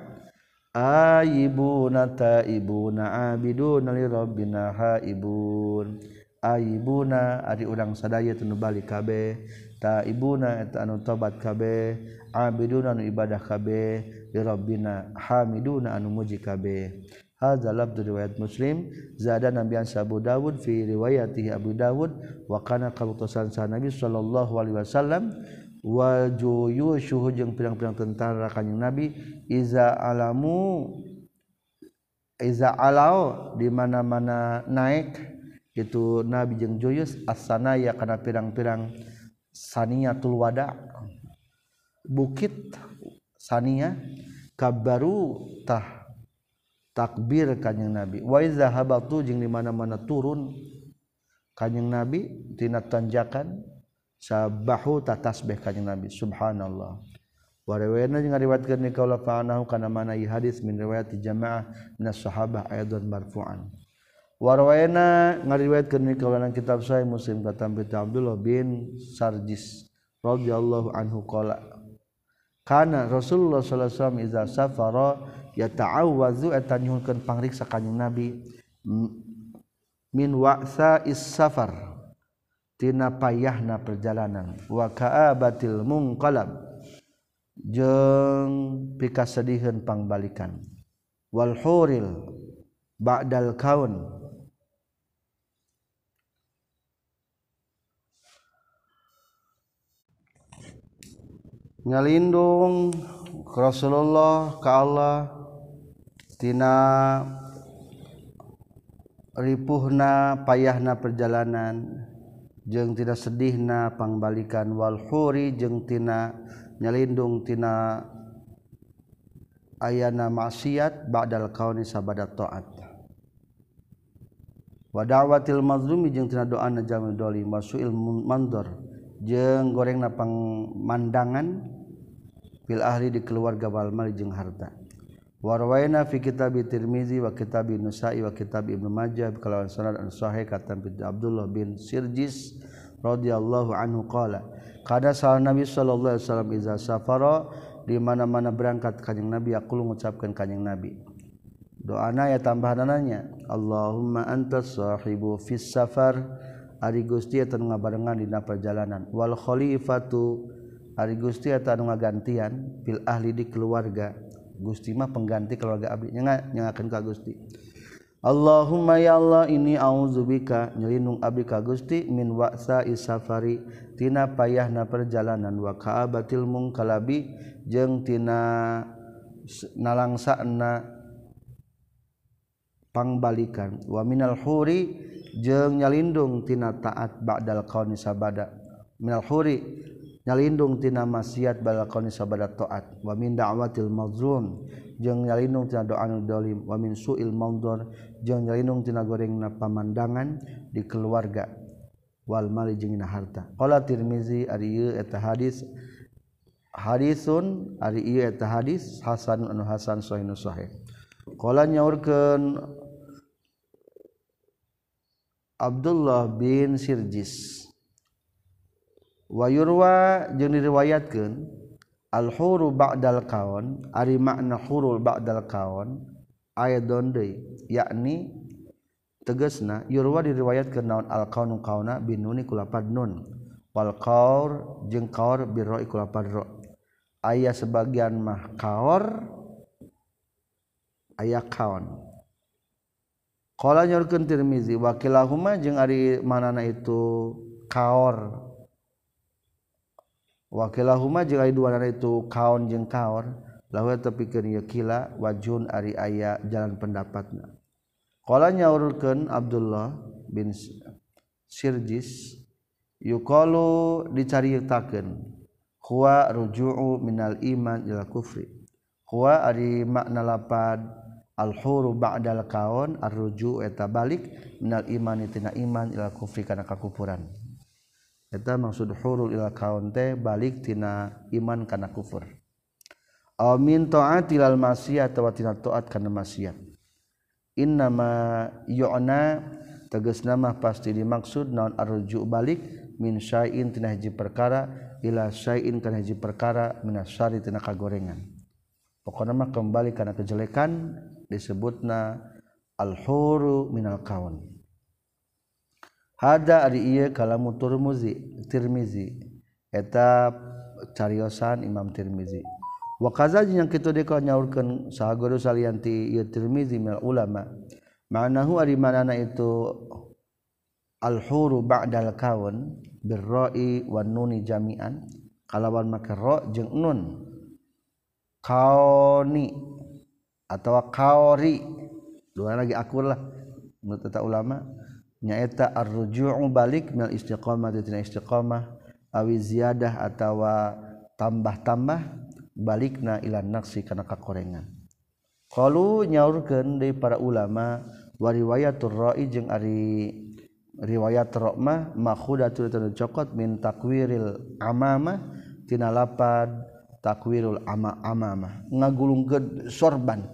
ayibuna taibuna abiduna li rabbina haibun ayibuna ari urang sadaya teu balik kabeh taibuna eta anu tobat kabeh abiduna anu ibadah kabeh li rabbina hamiduna anu muji kabeh hadza lafdhu riwayat Muslim zada nabiyan Abu Dawud fi riwayatihi Abu Dawud wa kana kabutosan sa Nabi sallallahu alaihi wasallam wa juyushuhu jeung pirang-pirang tentara kanjing Nabi iza alau di mana-mana naik itu Nabi jeung juyus as-sanaya kana pirang-pirang saniyatul wada bukit sania kabaru takbir kanjing Nabi wa iza habatu jeung di mana-mana turun kanjing Nabi tina tanjakan sabahu tasbih kanjing Nabi subhanallah wa riwayatna jeung ngariwayatkeun ni kaula fa'anahu kana mana ieu hadis min riwayat jamaah minas sahabah aidan marfu'an wa riwayatna ngariwayatkeun ni kaula nang kitab Sahih Muslim katam Abdullah bin Sarjis radhiyallahu anhu qala kana Rasulullah sallallahu alaihi wasallam iza safara yata'awwazu eta nyuhunkeun pangriksa kanjing Nabi min wa'sa'is safar tina payahna perjalanan wa ka'abatil munqalab jeung pikasediheun pangbalikan wal huril ba'dal kaun ngalindung Rasulullah ka Allah tina ripuhna payahna perjalanan jeung tina sedihna pangbalikan wal huri jeung tina nyalindung tina ayana maksiat ba'dal kauni sabada taat wa da'watil mazlumi jeung tina doana jamil dolim wasuil mandor jeung gorengna pangmandangan fil ahli di keluarga wal mal jeung harta warwaina fi kitab Tirmizi wa kitab Nasa'i wa kitab Ibnu Majah kalawan sanad an sahih kata Abdullah bin Sirjis radhiyallahu anhu qala kada sal Nabi sallallahu alaihi wasallam iza safara di mana-mana berangkat kanjing Nabi aku mengucapkan kanjing Nabi doana ya tambahanannya Allahumma antas sahibu fis safar ari Gusti eta nu ngabarengan dina perjalanan wal khalifatu ari Gusti eta nu ngagantian fil ahli di keluarga Gusti mah pengganti keluarga abdi nyangakeun ka Gusti Allahumma ya Allah ini auzubika nyelindung abdi ka Gusti min wa'sa isafari tina payahna perjalanan wa ka'abatil mungkalabi jeung tina nalangsana pangbalikan wa minal huri jeung nyalindung tina taat ba'dal qauni sabada minal huri nyalindung tina maksiat ba'dal qauni sabada taat wa min da'watil mazlum jeung nyalindung tina doa anu zalim wa min su'il mandor jeung nyalindung tina gorengna pamandangan di keluarga wal mali jeung dina harta qala Tirmizi ari ieu eta hadis hadisun ari ieu eta hadis hasan anu hasan sahihun sahih qala nyaurkeun Abdullah bin Sirjis wa yurwa jeung diriwayatkeun al-huru ba'dal kaun ari makna hurul ba'dal kaun ayadon deui yakni tegasna yurwa diriwayatkeun naon al-kaunu kauna binuni kulapad nun wal qaur jeung qaur birra kulapad ra aya sebagian mah qaur aya kaun qala nyorkeun Tirmizi wa kilahuma jeung ari manana itu qaur wakilahuma jeung ari duana itu kaon jeung kaor lahu tepikeun ieu kila wajun ari aya jalan pendapatna qala nyaurkeun Abdullah bin Sirjis yuqalu dicaritakeun huwa ruju'u minal iman ila kufri huwa ari makna lapad al-huru ba'dal kaon ar-ruju' eta balik minal iman tina iman ila kufri kana kakufuran eta maksud hurul ila kaun teh balik tina iman kana kufur aw min ta'ati lal maksiat wa tina taat kana maksiat innama yu'na tegasna mah pasti dimaksud naon arju balik min syai'in tina hiji perkara ila syai'in kana hiji perkara minasyari tina kagorengan pokona mah kembali kana kejelekan disebutna al-huru minal kaun hada ari ieu kalamu Tirmizi eta cariosan Imam Tirmizi wa kaza jeung kitu deui nyaurkeun saha guru salianti ieu Tirmizi mil ulama ma'nahu ari manana itu al-huru ba'dal kaun birra'i wan nuni jami'an kalawan make ra jeung nun kauni atawa kaori dua lagi akur lah menurut eta ulama nyaeta ar-ruju'u balik minal istiqamah tina istiqamah awi ziyadah atawa tambah-tambah balikna ila naqsi kana kakorengan qalu nyaurkeun deui para ulama wa riwayatur ra'i jeung ari riwayat ra mah makhudatul tanu cokot min takwiril amamah tina lapad takwirul amamah ngagulungkeun sorban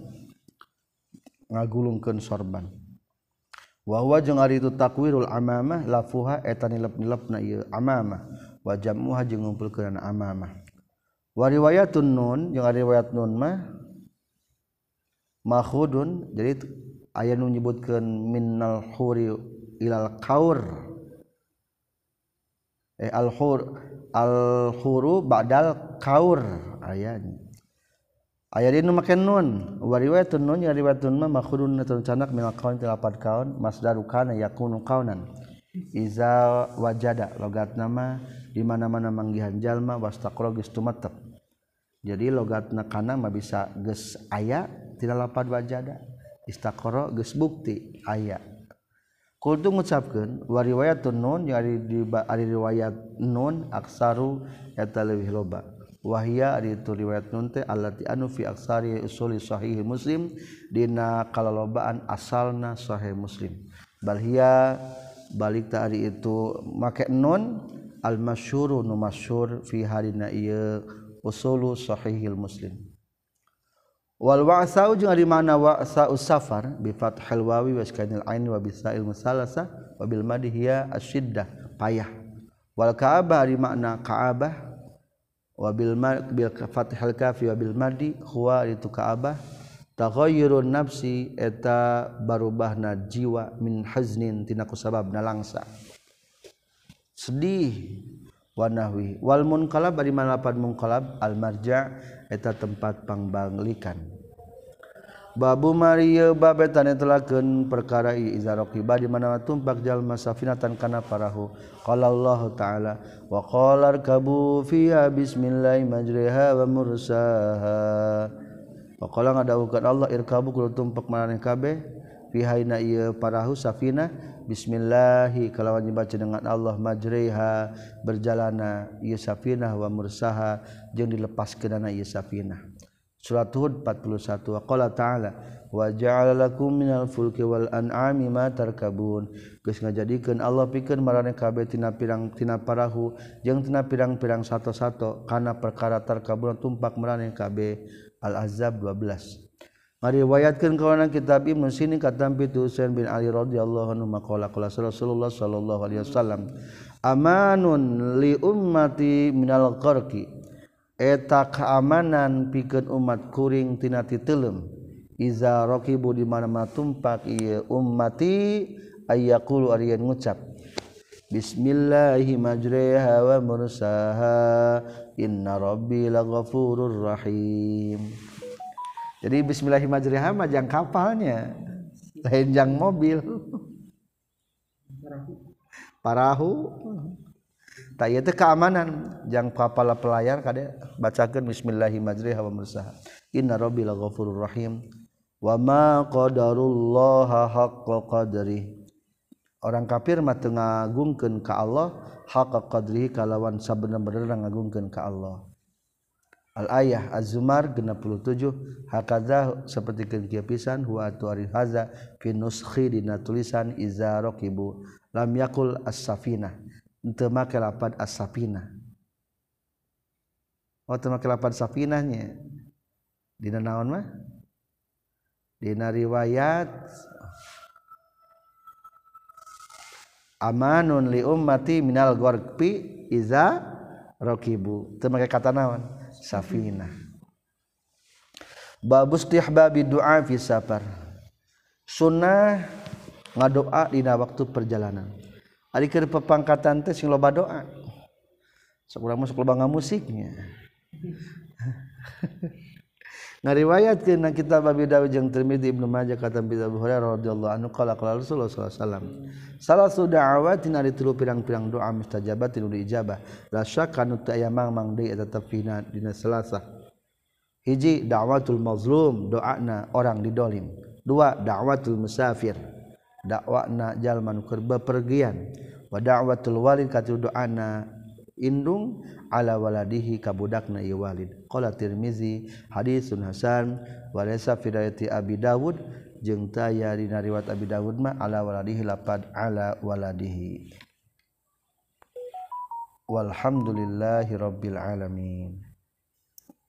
wa huwa jeung ari itu takwirul amamah lafuha eta nilep-nilepna ieu amamah wa jam'uha jeung ngumpulkeun amamah wa riwayatun nun jeung ari riwayat nun mah makhudun jadi aya nu nyebutkeun minnal huri ilal qaur al huru ba'dal qaur ayanya aya dinu make nun wa riwayatun nun ya riwayatun ma makhudun canak min qaun tilapad kaun masdaru kana yakunu qaunan iza wajada logatna mah di mana-mana manggihan jalma wastaqra geus tumetep jadi logatna kana mah bisa geus aya tina lapad wajada istaqra geus bukti aya kultu ngucapkeun wa riwayatun nun ya ari riwayat nun aksaru eta leuwih loba wahia ari itu riwayat nun teh allati anu fi aksari usuli sahih Muslim dina kalalobaan asalna sahih Muslim bal hiya balik ta ari itu make nun al masyhuru nu masyhur fi hadina ieu usulu sahih Muslim wal wa'sa'u jeung ari mana wa'sa'us safar bi fathil wawi wa iskanil ain wa bisail musalasa wa bil madi hiya asyiddah payah wal ka'abah ari makna ka'abah wa bil fathil kafi wa bil madi huwa itu ka'abah taghayyurun nafsi eta barubahna jiwa min haznin tina kusababna langsa sedih wa nahwi wal munqalab ari mana lapan munqalab al marja' eta tempat pangbalikan babu Maria babetan telakeun perkara iza raqiba di mana tumpak jalma safinatan kana parahu qala Allah taala wa qala arkabu fiha bismillahi majriha wa mursaha wa qala ngadawukeun Allah irkabu kudu tumpak maraneh kabeh fiha ina ieu parahu safinah bismillahi kalawan dibaca dengan Allah majriha berjalana ieu safinah wa mursaha jeung dilepaskeunana ieu safinah surat Hud 41 wa qala ta'ala wa ja'ala lakum minal fulki wal an'ami ma tarkabun geus ngajadikeun Allah pikeun maraneh kabeh tina pirang tina parahu jeung tina pirang-pirang sato-sato kana perkara tarkabun tumpak maraneh kabeh Al-Ahzab 12 ngariwayatkeun kawana kitab Ibnu Sirin katampi Husain bin Ali radhiyallahu anhu maqala qala Rasulullah sallallahu alaihi wasallam amanun li ummati minal qarqi eta keamanan pikeun umat kuring tina titeuleum iza raqibu di mana-mana tumpak ieu ummati ayyaqulu ari ngucap bismillahi majriha wa mursaha inna rabbi laghafurur rahim. Jadi bismillahi majriha mah jang kapalnya lain jang mobil parahu tak ieu teh keamanan jang kapal pelayar kade bacakeun bismillahi majriha wa mursaha inna rabbi laghafurur rahim wa ma qadarullaha haqqa qadri orang kafir mah teu ngagungkeun ka Allah haqqa qadri kalawan sabener-bener ngagungkeun ka Allah. Al-ayah Az-Zumar 67 hakadha seperti kieu pisan huwa tuari haza fi nuskhi dina tulisan iza raqibu lam yakul as-safinah teu make lapad as-safinah teu make lapad safinahnya dina naon mah dina riwayat amanun li ummati minal gharqi iza raqibu teu make kata naon safinah. Babus istihbabi du'a fi safar. Sunnah ngadoa dina waktu perjalanan. Ari keur pepangkatan teh sing loba doa. Sok urang mah sok loba ngamusiknya. Ngariwayatkeun na kitab Abi Dawud jeung Tirmidzi Ibnu Majah kata Abu Hurairah radhiyallahu anhu qala qala Rasulullah sallallahu alaihi wasallam salasu da'awatin ari tilu pirang-pirang doa mustajabatin diijabah la syakka nu teu aya mangmang deui eta tafina dina salasa hiji da'watul mazlum doana orang didolim dua da'watul musafir dakwana jalma nu keur bepergian wa da'watul walid katilu doana indung ala waladihi kabudakna ieu walid qala Tirmizi hadisun hasan wa laysa fi riwayati Abi Dawud jeung taya dina riwayat Abi Dawud mah ala waladihi lapad ala waladihi walhamdulillahi rabbil alamin.